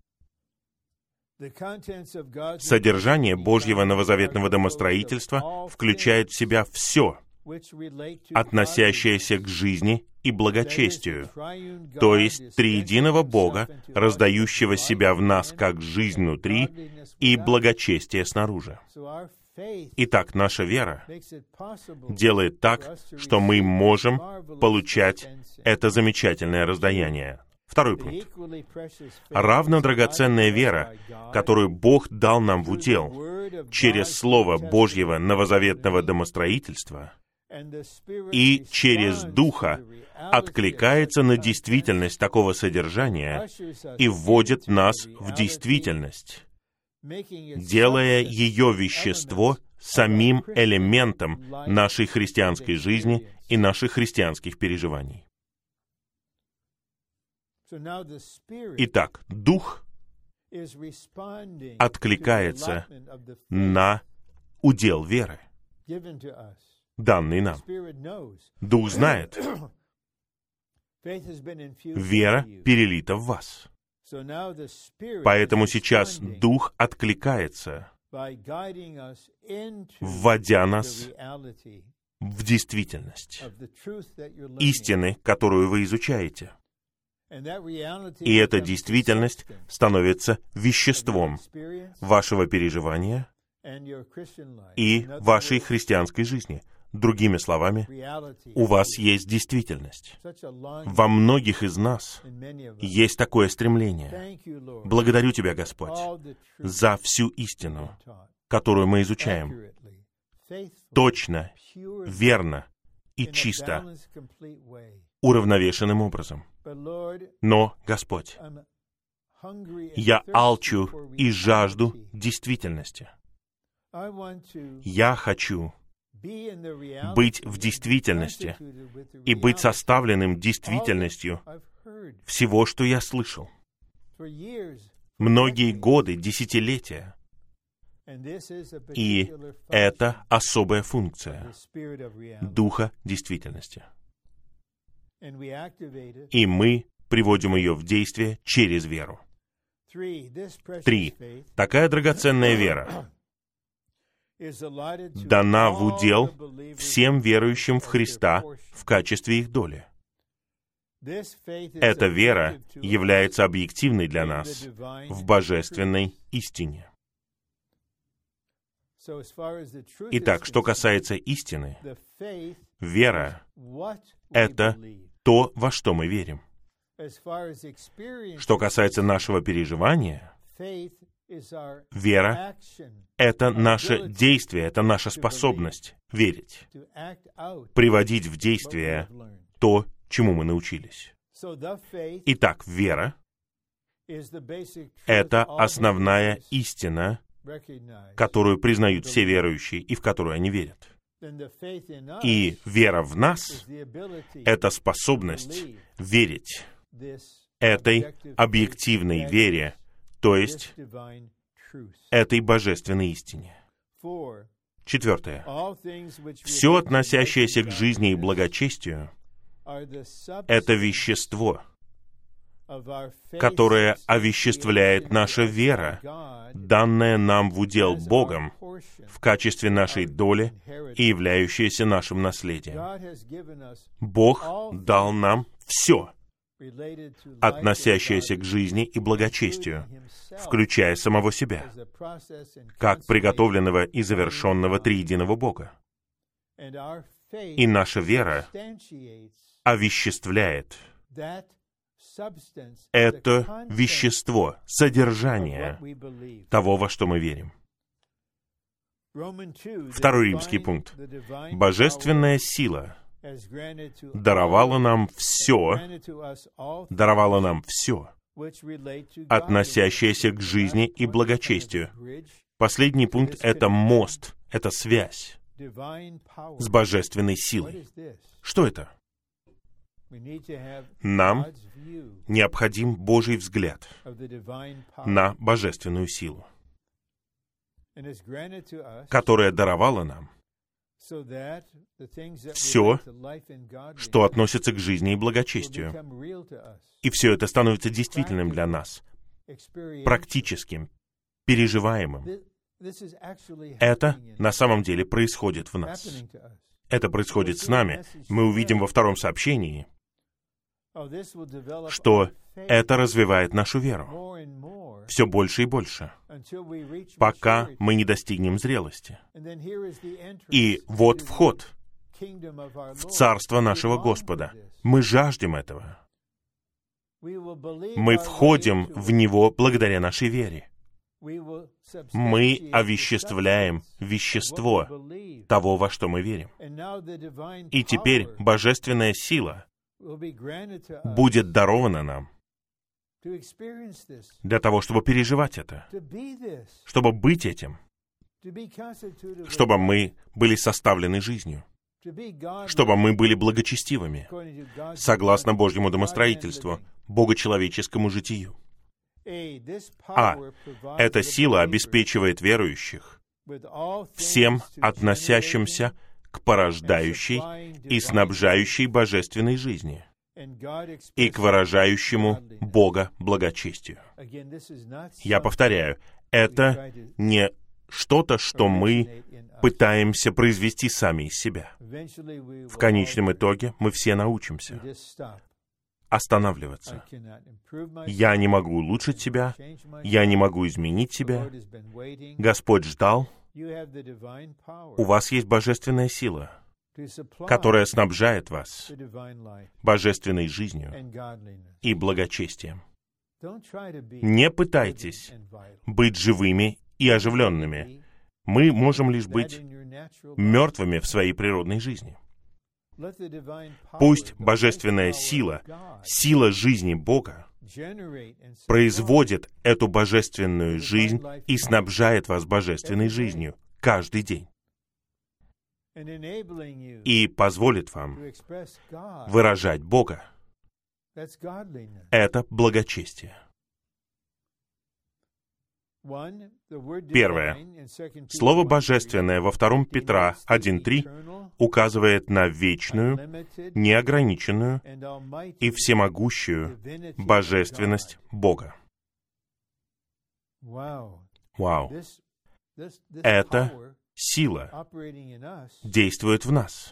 Speaker 1: Содержание Божьего новозаветного домостроительства включает в себя все, относящееся к жизни и благочестию, то есть триединого Бога, раздающего себя в нас как жизнь внутри и благочестие снаружи. Итак, наша вера делает так, что мы можем получать это замечательное раздаяние. Второй пункт. Равно драгоценная вера, которую Бог дал нам в удел через Слово Божьего новозаветного домостроительства и через Духа, откликается на действительность такого содержания и вводит нас в действительность, делая ее вещество самим элементом нашей христианской жизни и наших христианских переживаний. Итак, Дух откликается на удел веры, данный нам. Дух знает, вера перелита в вас. Поэтому сейчас Дух откликается, вводя нас в действительность истины, которую вы изучаете. И эта действительность становится веществом вашего переживания и вашей христианской жизни. Другими словами, у вас есть действительность. Во многих из нас есть такое стремление. Благодарю Тебя, Господь, за всю истину, которую мы изучаем, точно, верно и чисто, уравновешенным образом. Но, Господь, я алчу и жажду действительности. Я хочу быть в действительности и быть составленным действительностью всего, что я слышал. Многие годы, десятилетия. И это особая функция Духа действительности. И мы приводим ее в действие через веру. Три. Такая драгоценная вера дана в удел всем верующим в Христа в качестве их доли. Эта вера является объективной для нас в божественной истине. Итак, что касается истины, вера — это то, во что мы верим. Что касается нашего переживания, вера — это наше действие, это наша способность верить, приводить в действие то, чему мы научились. Итак, вера — это основная истина, которую признают все верующие и в которую они верят. И вера в нас — это способность верить этой объективной вере, то есть этой божественной истине. Четвертое. Все, относящееся к жизни и благочестию, это вещество, которое овеществляет наша вера, данная нам в удел Богом в качестве нашей доли и являющаяся нашим наследием. Бог дал нам все, относящееся к жизни и благочестию, включая самого себя, как приготовленного и завершенного триединого Бога. И наша вера овеществляет это вещество, содержание того, во что мы верим. Второй римский пункт. Божественная сила даровала нам все, даровала нам все, относящееся к жизни и благочестию. Последний пункт — это мост, это связь с божественной силой. Что это? Нам необходим Божий взгляд на божественную силу, которая даровала нам все, что относится к жизни и благочестию. И все это становится действительным для нас, практическим, переживаемым. Это на самом деле происходит в нас. Это происходит с нами. Мы увидим во втором сообщении, что это развивает нашу веру все больше и больше, пока мы не достигнем зрелости. И вот вход в Царство нашего Господа. Мы жаждем этого. Мы входим в Него благодаря нашей вере. Мы овеществляем вещество того, во что мы верим. И теперь божественная сила будет дарована нам для того, чтобы переживать это, чтобы быть этим, чтобы мы были составлены жизнью, чтобы мы были благочестивыми, согласно Божьему домостроительству, богочеловеческому житию. А. Эта сила обеспечивает верующих всем относящимся к порождающей и снабжающей божественной жизни и к выражающему Бога благочестию. Я повторяю, это не что-то, что мы пытаемся произвести сами из себя. В конечном итоге мы все научимся останавливаться. Я не могу улучшить себя, я не могу изменить себя. Господь ждал. У вас есть божественная сила, которая снабжает вас божественной жизнью и благочестием. Не пытайтесь быть живыми и оживленными. Мы можем лишь быть мертвыми в своей природной жизни. Пусть божественная сила, сила жизни Бога, производит эту божественную жизнь и снабжает вас божественной жизнью каждый день. И позволит вам выражать Бога. Это благочестие. Первое. Слово «божественное» во втором Петра один три указывает на вечную, неограниченную и всемогущую божественность Бога. Вау! Эта сила действует в нас.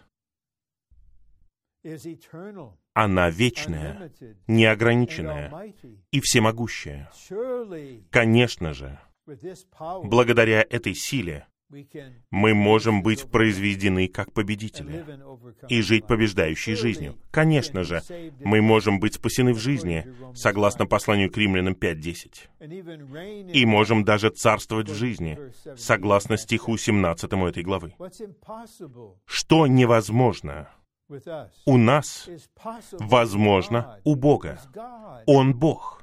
Speaker 1: Она вечная, неограниченная и всемогущая. Конечно же, благодаря этой силе мы можем быть произведены как победители и жить побеждающей жизнью. Конечно же, мы можем быть спасены в жизни, согласно посланию к Римлянам пять десять. И можем даже царствовать в жизни, согласно стиху семнадцатому этой главы. Что невозможно у нас возможно у Бога. Он Бог.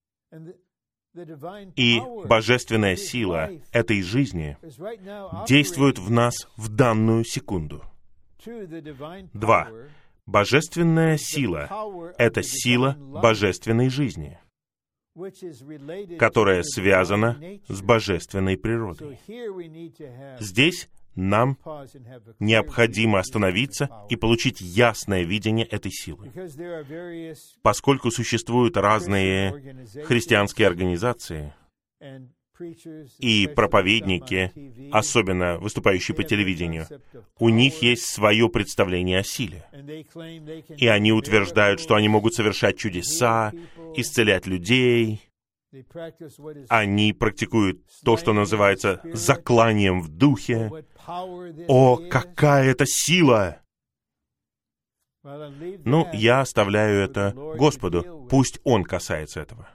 Speaker 1: И божественная сила этой жизни действует в нас в данную секунду. Два. Божественная сила — это сила божественной жизни, которая связана с божественной природой. Здесь нам необходимо остановиться и получить ясное видение этой силы. Поскольку существуют разные христианские организации и проповедники, особенно выступающие по телевидению, у них есть свое представление о силе. И они утверждают, что они могут совершать чудеса, исцелять людей. Они практикуют то, что называется закланием в духе. О, какая это сила! Ну, я оставляю это Господу. Пусть Он касается этого.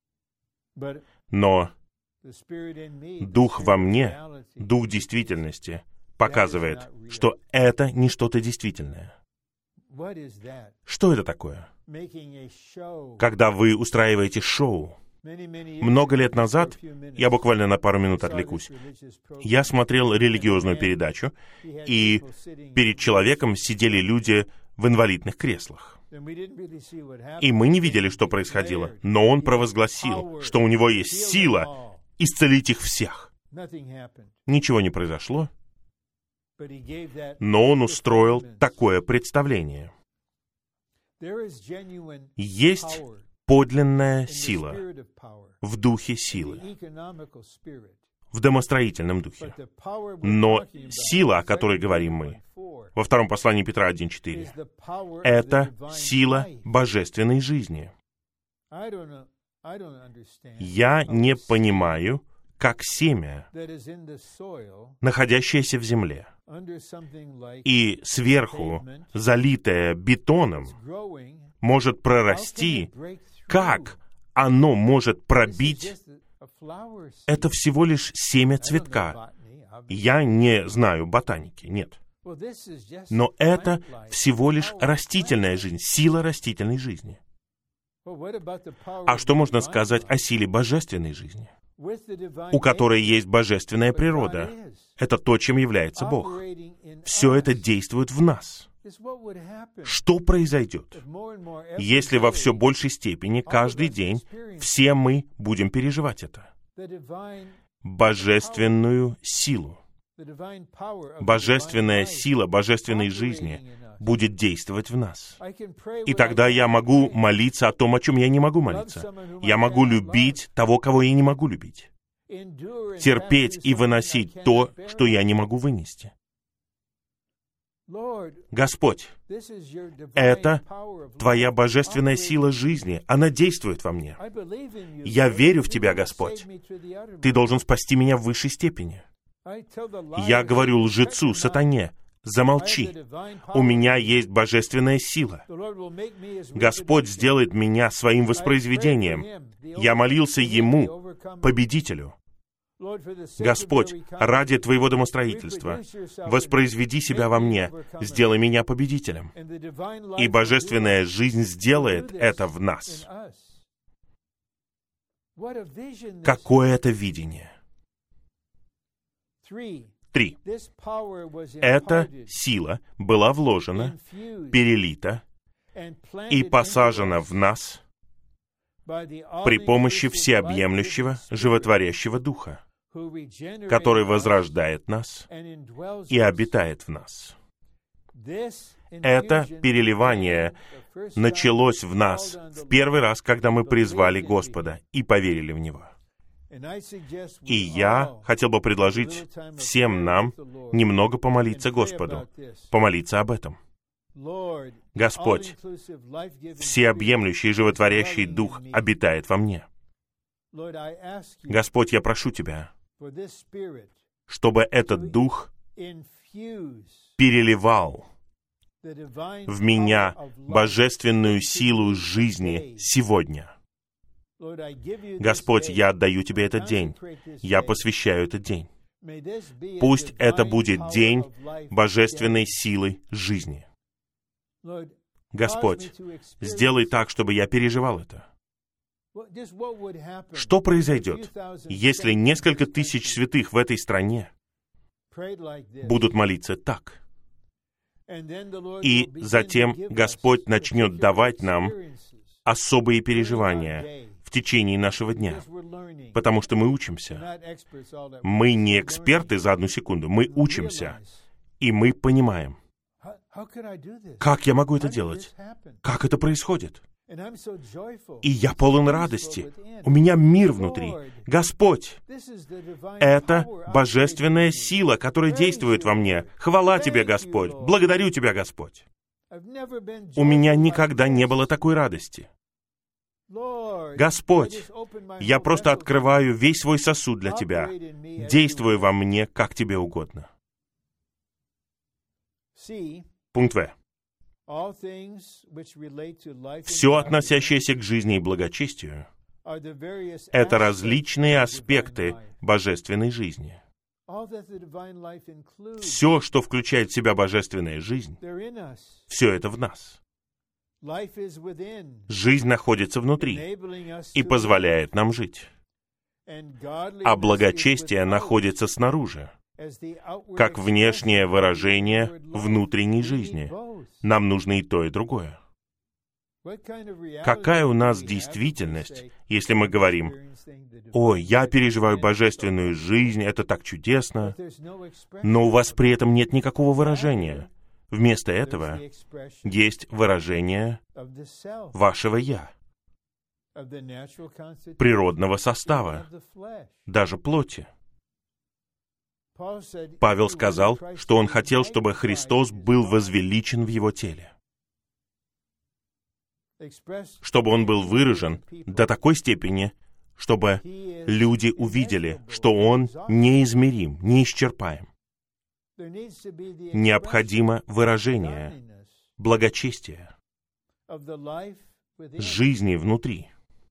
Speaker 1: Но Дух во мне, Дух действительности, показывает, что это не что-то действительное. Что это такое? Когда вы устраиваете шоу. Много лет назад, я буквально на пару минут отвлекусь, я смотрел религиозную передачу, и перед человеком сидели люди в инвалидных креслах. И мы не видели, что происходило, но он провозгласил, что у него есть сила исцелить их всех. Ничего не произошло, но он устроил такое представление. Есть подлинная сила в духе силы, в домостроительном духе. Но сила, о которой говорим мы, во втором послании Петра один четыре, это сила божественной жизни. Я не понимаю, как семя, находящееся в земле, и сверху залитое бетоном, может прорасти. Как оно может пробить? Это всего лишь семя цветка. Я не знаю ботаники, нет. Но это всего лишь растительная жизнь, сила растительной жизни. А что можно сказать о силе божественной жизни, у которой есть божественная природа? Это то, чем является Бог. Все это действует в нас. Что произойдет, если во все большей степени каждый день все мы будем переживать это? Божественную силу. Божественная сила божественной жизни будет действовать в нас. И тогда я могу молиться о том, о чем я не могу молиться. Я могу любить того, кого я не могу любить. Терпеть и выносить то, что я не могу вынести. Господь, это Твоя божественная сила жизни. Она действует во мне. Я верю в Тебя, Господь. Ты должен спасти меня в высшей степени. Я говорю лжецу, сатане, замолчи. У меня есть божественная сила. Господь сделает меня своим воспроизведением. Я молился Ему, победителю. Господь, ради Твоего домостроительства, воспроизведи себя во мне, сделай меня победителем. И божественная жизнь сделает это в нас. Какое это видение? Три. Эта сила была вложена, перелита и посажена в нас при помощи всеобъемлющего, животворящего Духа, который возрождает нас и обитает в нас. Это переливание началось в нас в первый раз, когда мы призвали Господа и поверили в Него. И я хотел бы предложить всем нам немного помолиться Господу, помолиться об этом. Господь, всеобъемлющий и животворящий Дух обитает во мне. Господь, я прошу Тебя, чтобы этот Дух переливал в меня божественную силу жизни сегодня. Господь, я отдаю Тебе этот день. Я посвящаю этот день. Пусть это будет день божественной силы жизни. Господь, сделай так, чтобы я переживал это. Что произойдет, если несколько тысяч святых в этой стране будут молиться так? И затем Господь начнет давать нам особые переживания в течение нашего дня, потому что мы учимся. Мы не эксперты за одну секунду, мы учимся, и мы понимаем, как я могу это делать, как это происходит. И я полон радости. У меня мир внутри. Господь, это божественная сила, которая действует во мне. Хвала Тебе, Господь. Благодарю Тебя, Господь. У меня никогда не было такой радости. Господь, я просто открываю весь свой сосуд для Тебя. Действуй во мне, как Тебе угодно. Пункт В. Все, относящееся к жизни и благочестию, это различные аспекты божественной жизни. Все, что включает в себя божественная жизнь, все это в нас. Жизнь находится внутри и позволяет нам жить. А благочестие находится снаружи, как внешнее выражение внутренней жизни. Нам нужно и то, и другое. Какая у нас действительность, если мы говорим: «Ой, я переживаю божественную жизнь, это так чудесно», но у вас при этом нет никакого выражения. Вместо этого есть выражение вашего «я», природного состава, даже плоти. Павел сказал, что он хотел, чтобы Христос был возвеличен в его теле, чтобы он был выражен до такой степени, чтобы люди увидели, что он неизмерим, неисчерпаем. Необходимо выражение благочестия, жизни внутри.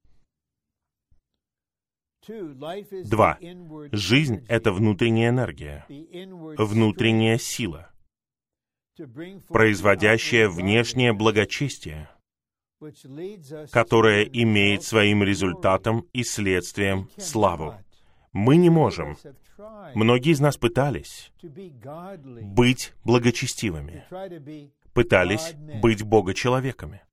Speaker 1: Два. Жизнь — это внутренняя энергия, внутренняя сила, производящая внешнее благочестие, которая имеет своим результатом и следствием славу. Мы не можем. Многие из нас пытались быть благочестивыми, пытались быть богочеловеками.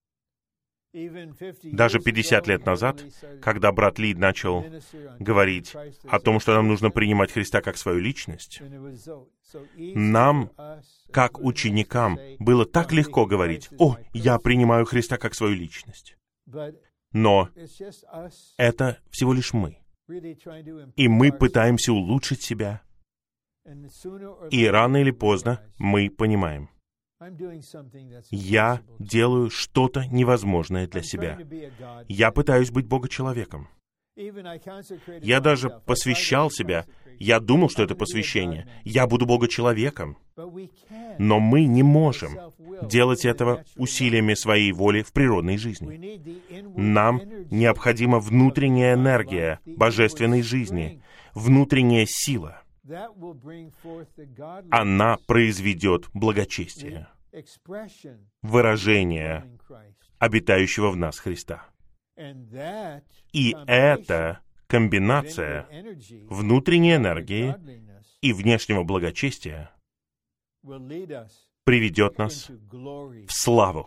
Speaker 1: Даже пятьдесят лет назад, когда брат Ли начал говорить о том, что нам нужно принимать Христа как свою личность, нам, как ученикам, было так легко говорить: «О, я принимаю Христа как свою личность». Но это всего лишь мы. И мы пытаемся улучшить себя. И рано или поздно мы понимаем: я делаю что-то невозможное для себя. Я пытаюсь быть богочеловеком. Я даже посвящал себя. Я думал, что это посвящение. Я буду богочеловеком. Но мы не можем делать этого усилиями своей воли в природной жизни. Нам необходима внутренняя энергия божественной жизни, внутренняя сила. Она произведет благочестие, выражение обитающего в нас Христа. И эта комбинация внутренней энергии и внешнего благочестия приведет нас в славу,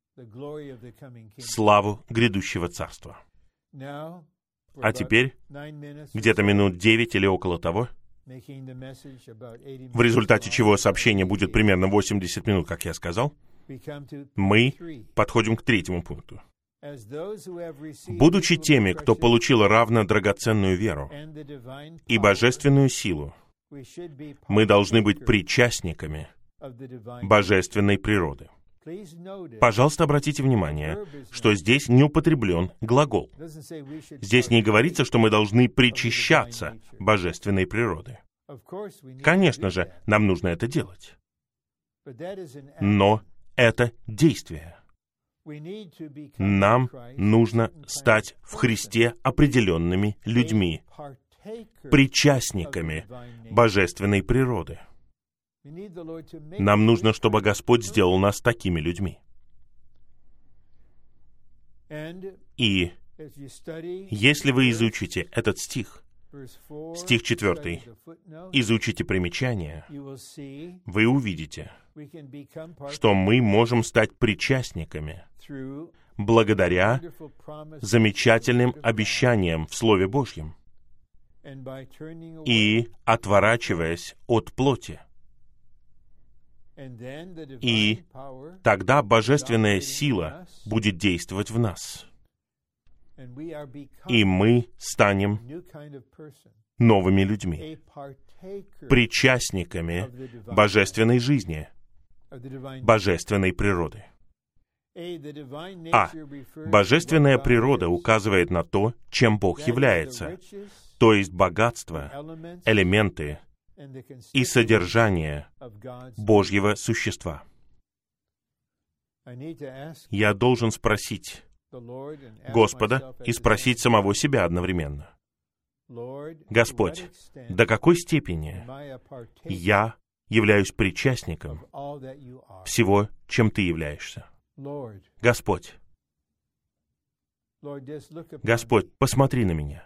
Speaker 1: славу грядущего царства. А теперь, где-то минут девять или около того, в результате чего сообщение будет примерно восемьдесят минут, как я сказал, мы подходим к третьему пункту. Будучи теми, кто получил равно драгоценную веру и божественную силу, мы должны быть причастниками божественной природы. Пожалуйста, обратите внимание, что здесь не употреблен глагол. Здесь не говорится, что мы должны причащаться божественной природы. Конечно же, нам нужно это делать. Но это действие. Нам нужно стать в Христе определенными людьми, причастниками божественной природы. Нам нужно, чтобы Господь сделал нас такими людьми. И если вы изучите этот стих, стих четвертый, изучите примечание, вы увидите, что мы можем стать причастниками благодаря замечательным обещаниям в Слове Божьем и отворачиваясь от плоти. И тогда божественная сила будет действовать в нас. И мы станем новыми людьми, причастниками божественной жизни, божественной природы. А. Божественная природа указывает на то, чем Бог является, то есть богатство, элементы и содержание Божьего существа. Я должен спросить Господа и спросить самого себя одновременно. Господь, до какой степени я являюсь причастником всего, чем Ты являешься? Господь, Господь, посмотри на меня.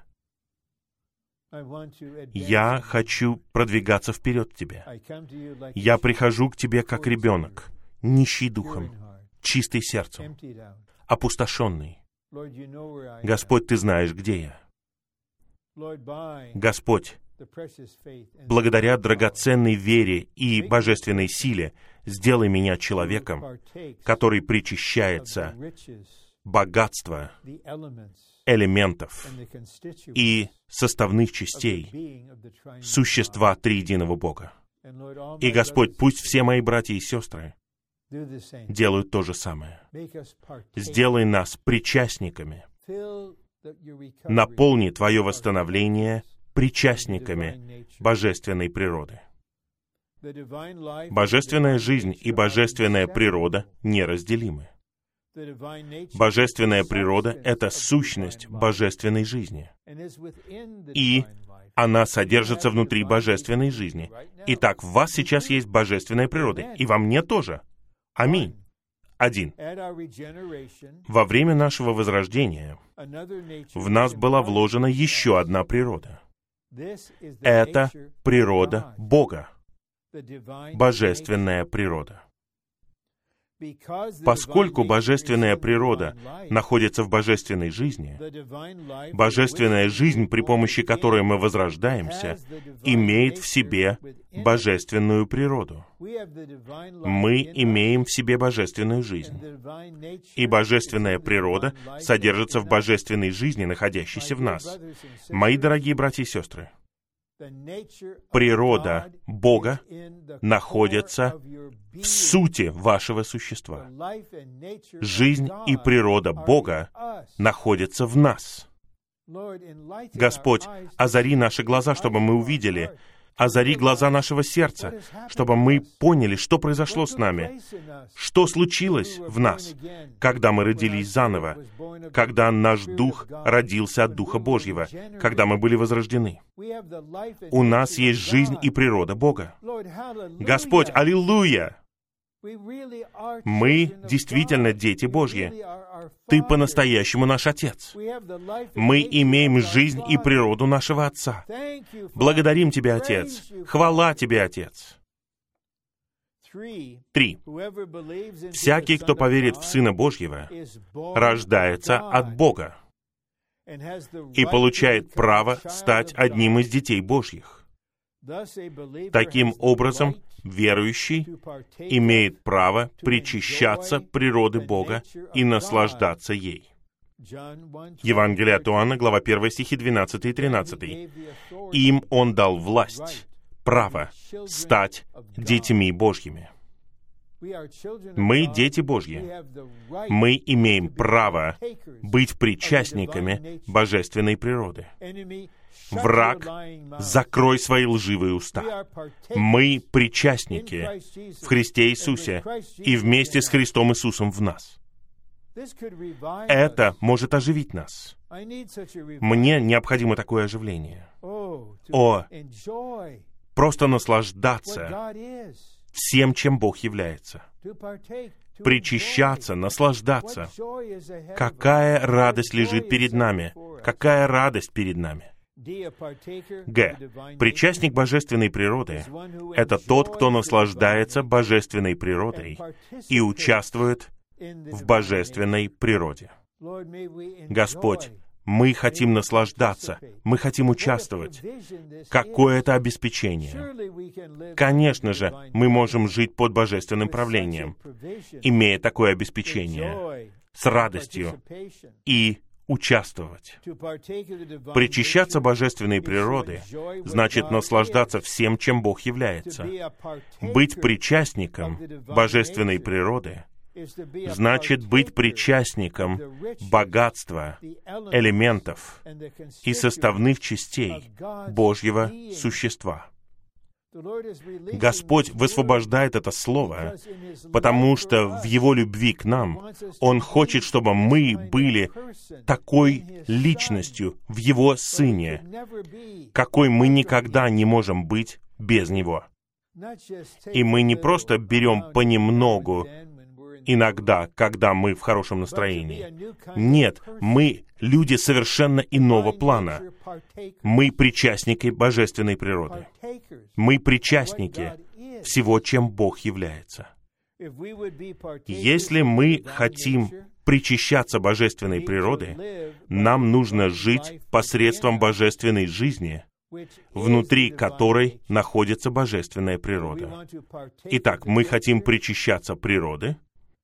Speaker 1: Я хочу продвигаться вперед к Тебе. Я прихожу к Тебе как ребенок, нищий духом, чистый сердцем, опустошенный. Господь, Ты знаешь, где я. Господь, благодаря драгоценной вере и божественной силе, сделай меня человеком, который причащается богатства, элементов и составных частей существа триединого Бога. И, Господь, пусть все мои братья и сестры делают то же самое. Сделай нас причастниками. Наполни Твое восстановление причастниками божественной природы. Божественная жизнь и божественная природа неразделимы. Божественная природа — это сущность божественной жизни. И она содержится внутри божественной жизни. Итак, в вас сейчас есть божественная природа, и во мне тоже. Аминь. Один. Во время нашего возрождения в нас была вложена еще одна природа. Это природа Бога, божественная природа. Поскольку божественная природа находится в божественной жизни, божественная жизнь, при помощи которой мы возрождаемся, имеет в себе божественную природу. Мы имеем в себе божественную жизнь. И божественная природа содержится в божественной жизни, находящейся в нас. Мои дорогие братья и сестры, природа Бога находится в сути вашего существа. Жизнь и природа Бога находятся в нас. Господь, озари наши глаза, чтобы мы увидели. Озари глаза нашего сердца, чтобы мы поняли, что произошло с нами, что случилось в нас, когда мы родились заново, когда наш дух родился от Духа Божьего, когда мы были возрождены. У нас есть жизнь и природа Бога. Господь, аллилуйя! Мы действительно дети Божьи. Ты по-настоящему наш Отец. Мы имеем жизнь и природу нашего Отца. Благодарим Тебя, Отец. Хвала Тебе, Отец. Три. Всякий, кто поверит в Сына Божьего, рождается от Бога и получает право стать одним из детей Божьих. Таким образом, верующий имеет право причащаться природы Бога и наслаждаться ей. Евангелие от Иоанна, глава первая, стихи двенадцатый и тринадцатый. Им Он дал власть, право стать детьми Божьими. Мы дети Божьи. Мы имеем право быть причастниками божественной природы. Враг, закрой свои лживые уста. Мы причастники в Христе Иисусе и вместе с Христом Иисусом в нас. Это может оживить нас. Мне необходимо такое оживление. О, просто наслаждаться всем, чем Бог является. Причащаться, наслаждаться. Какая радость лежит перед нами? Какая радость перед нами? Г. Причастник божественной природы — это тот, кто наслаждается божественной природой и участвует в божественной природе. Господь, мы хотим наслаждаться, мы хотим участвовать. Какое это обеспечение? Конечно же, мы можем жить под божественным правлением, имея такое обеспечение, с радостью и участвовать. Причащаться божественной природы значит наслаждаться всем, чем Бог является. Быть причастником божественной природы значит быть причастником богатства, элементов и составных частей Божьего существа. Господь высвобождает это слово, потому что в Его любви к нам Он хочет, чтобы мы были такой личностью в Его Сыне, какой мы никогда не можем быть без Него. И мы не просто берем понемногу, иногда, когда мы в хорошем настроении. Нет, мы люди совершенно иного плана. Мы причастники божественной природы. Мы причастники всего, чем Бог является. Если мы хотим причащаться божественной природы, нам нужно жить посредством божественной жизни, внутри которой находится божественная природа. Итак, мы хотим причащаться природы.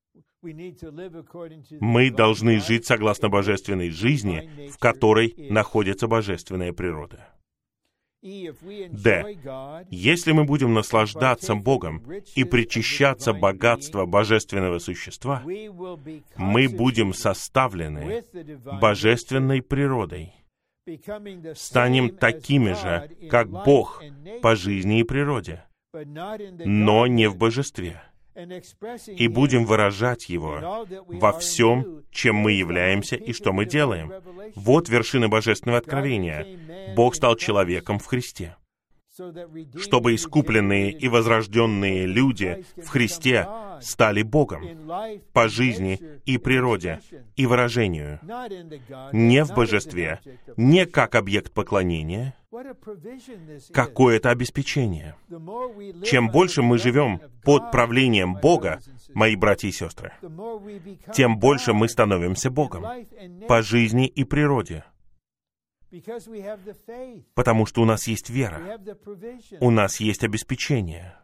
Speaker 1: Мы должны жить согласно божественной жизни, в которой находится божественная природа. Д. Если мы будем наслаждаться Богом и причащаться богатства божественного существа, мы будем составлены божественной природой, станем такими же, как Бог по жизни и природе, но не в божестве, и будем выражать Его во всем, чем мы являемся и что мы делаем. Вот вершина божественного откровения. Бог стал человеком в Христе, чтобы искупленные и возрожденные люди в Христе стали Богом по жизни и природе и выражению, не в божестве, не как объект поклонения. Какое это обеспечение! Чем больше мы живем под правлением Бога, мои братья и сестры, тем больше мы становимся Богом по жизни и природе. Потому что у нас есть вера, у нас есть обеспечение.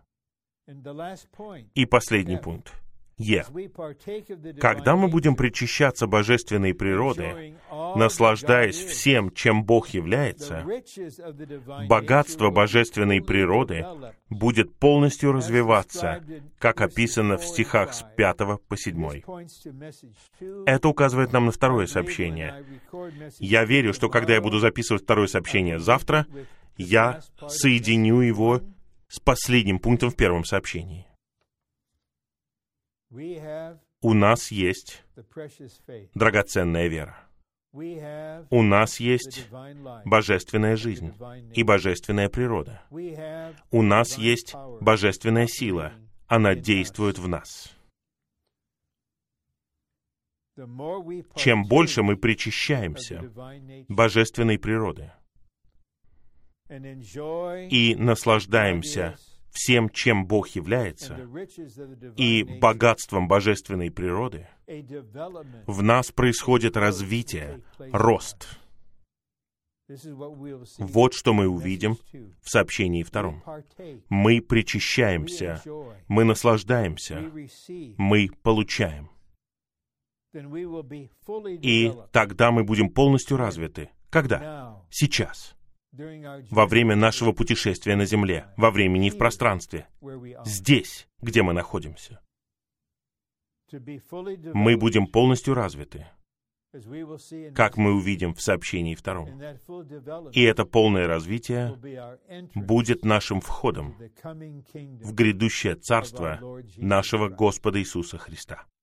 Speaker 1: И последний пункт. Е. Когда мы будем причащаться божественной природы, наслаждаясь всем, чем Бог является, богатство божественной природы будет полностью развиваться, как описано в стихах с пятого по седьмой. Это указывает нам на второе сообщение. Я верю, что когда я буду записывать второе сообщение завтра, я соединю его с последним пунктом в первом сообщении. У нас есть драгоценная вера. У нас есть божественная жизнь и божественная природа. У нас есть божественная сила. Она действует в нас. Чем больше мы причащаемся божественной природы и наслаждаемся всем, чем Бог является, и богатством божественной природы, в нас происходит развитие, рост. Вот что мы увидим в сообщении втором. Мы причащаемся, мы наслаждаемся, мы получаем. И тогда мы будем полностью развиты. Когда? Сейчас. Во время нашего путешествия на Земле, во времени и в пространстве, здесь, где мы находимся. Мы будем полностью развиты, как мы увидим в сообщении втором. И это полное развитие будет нашим входом в грядущее царство нашего Господа Иисуса Христа.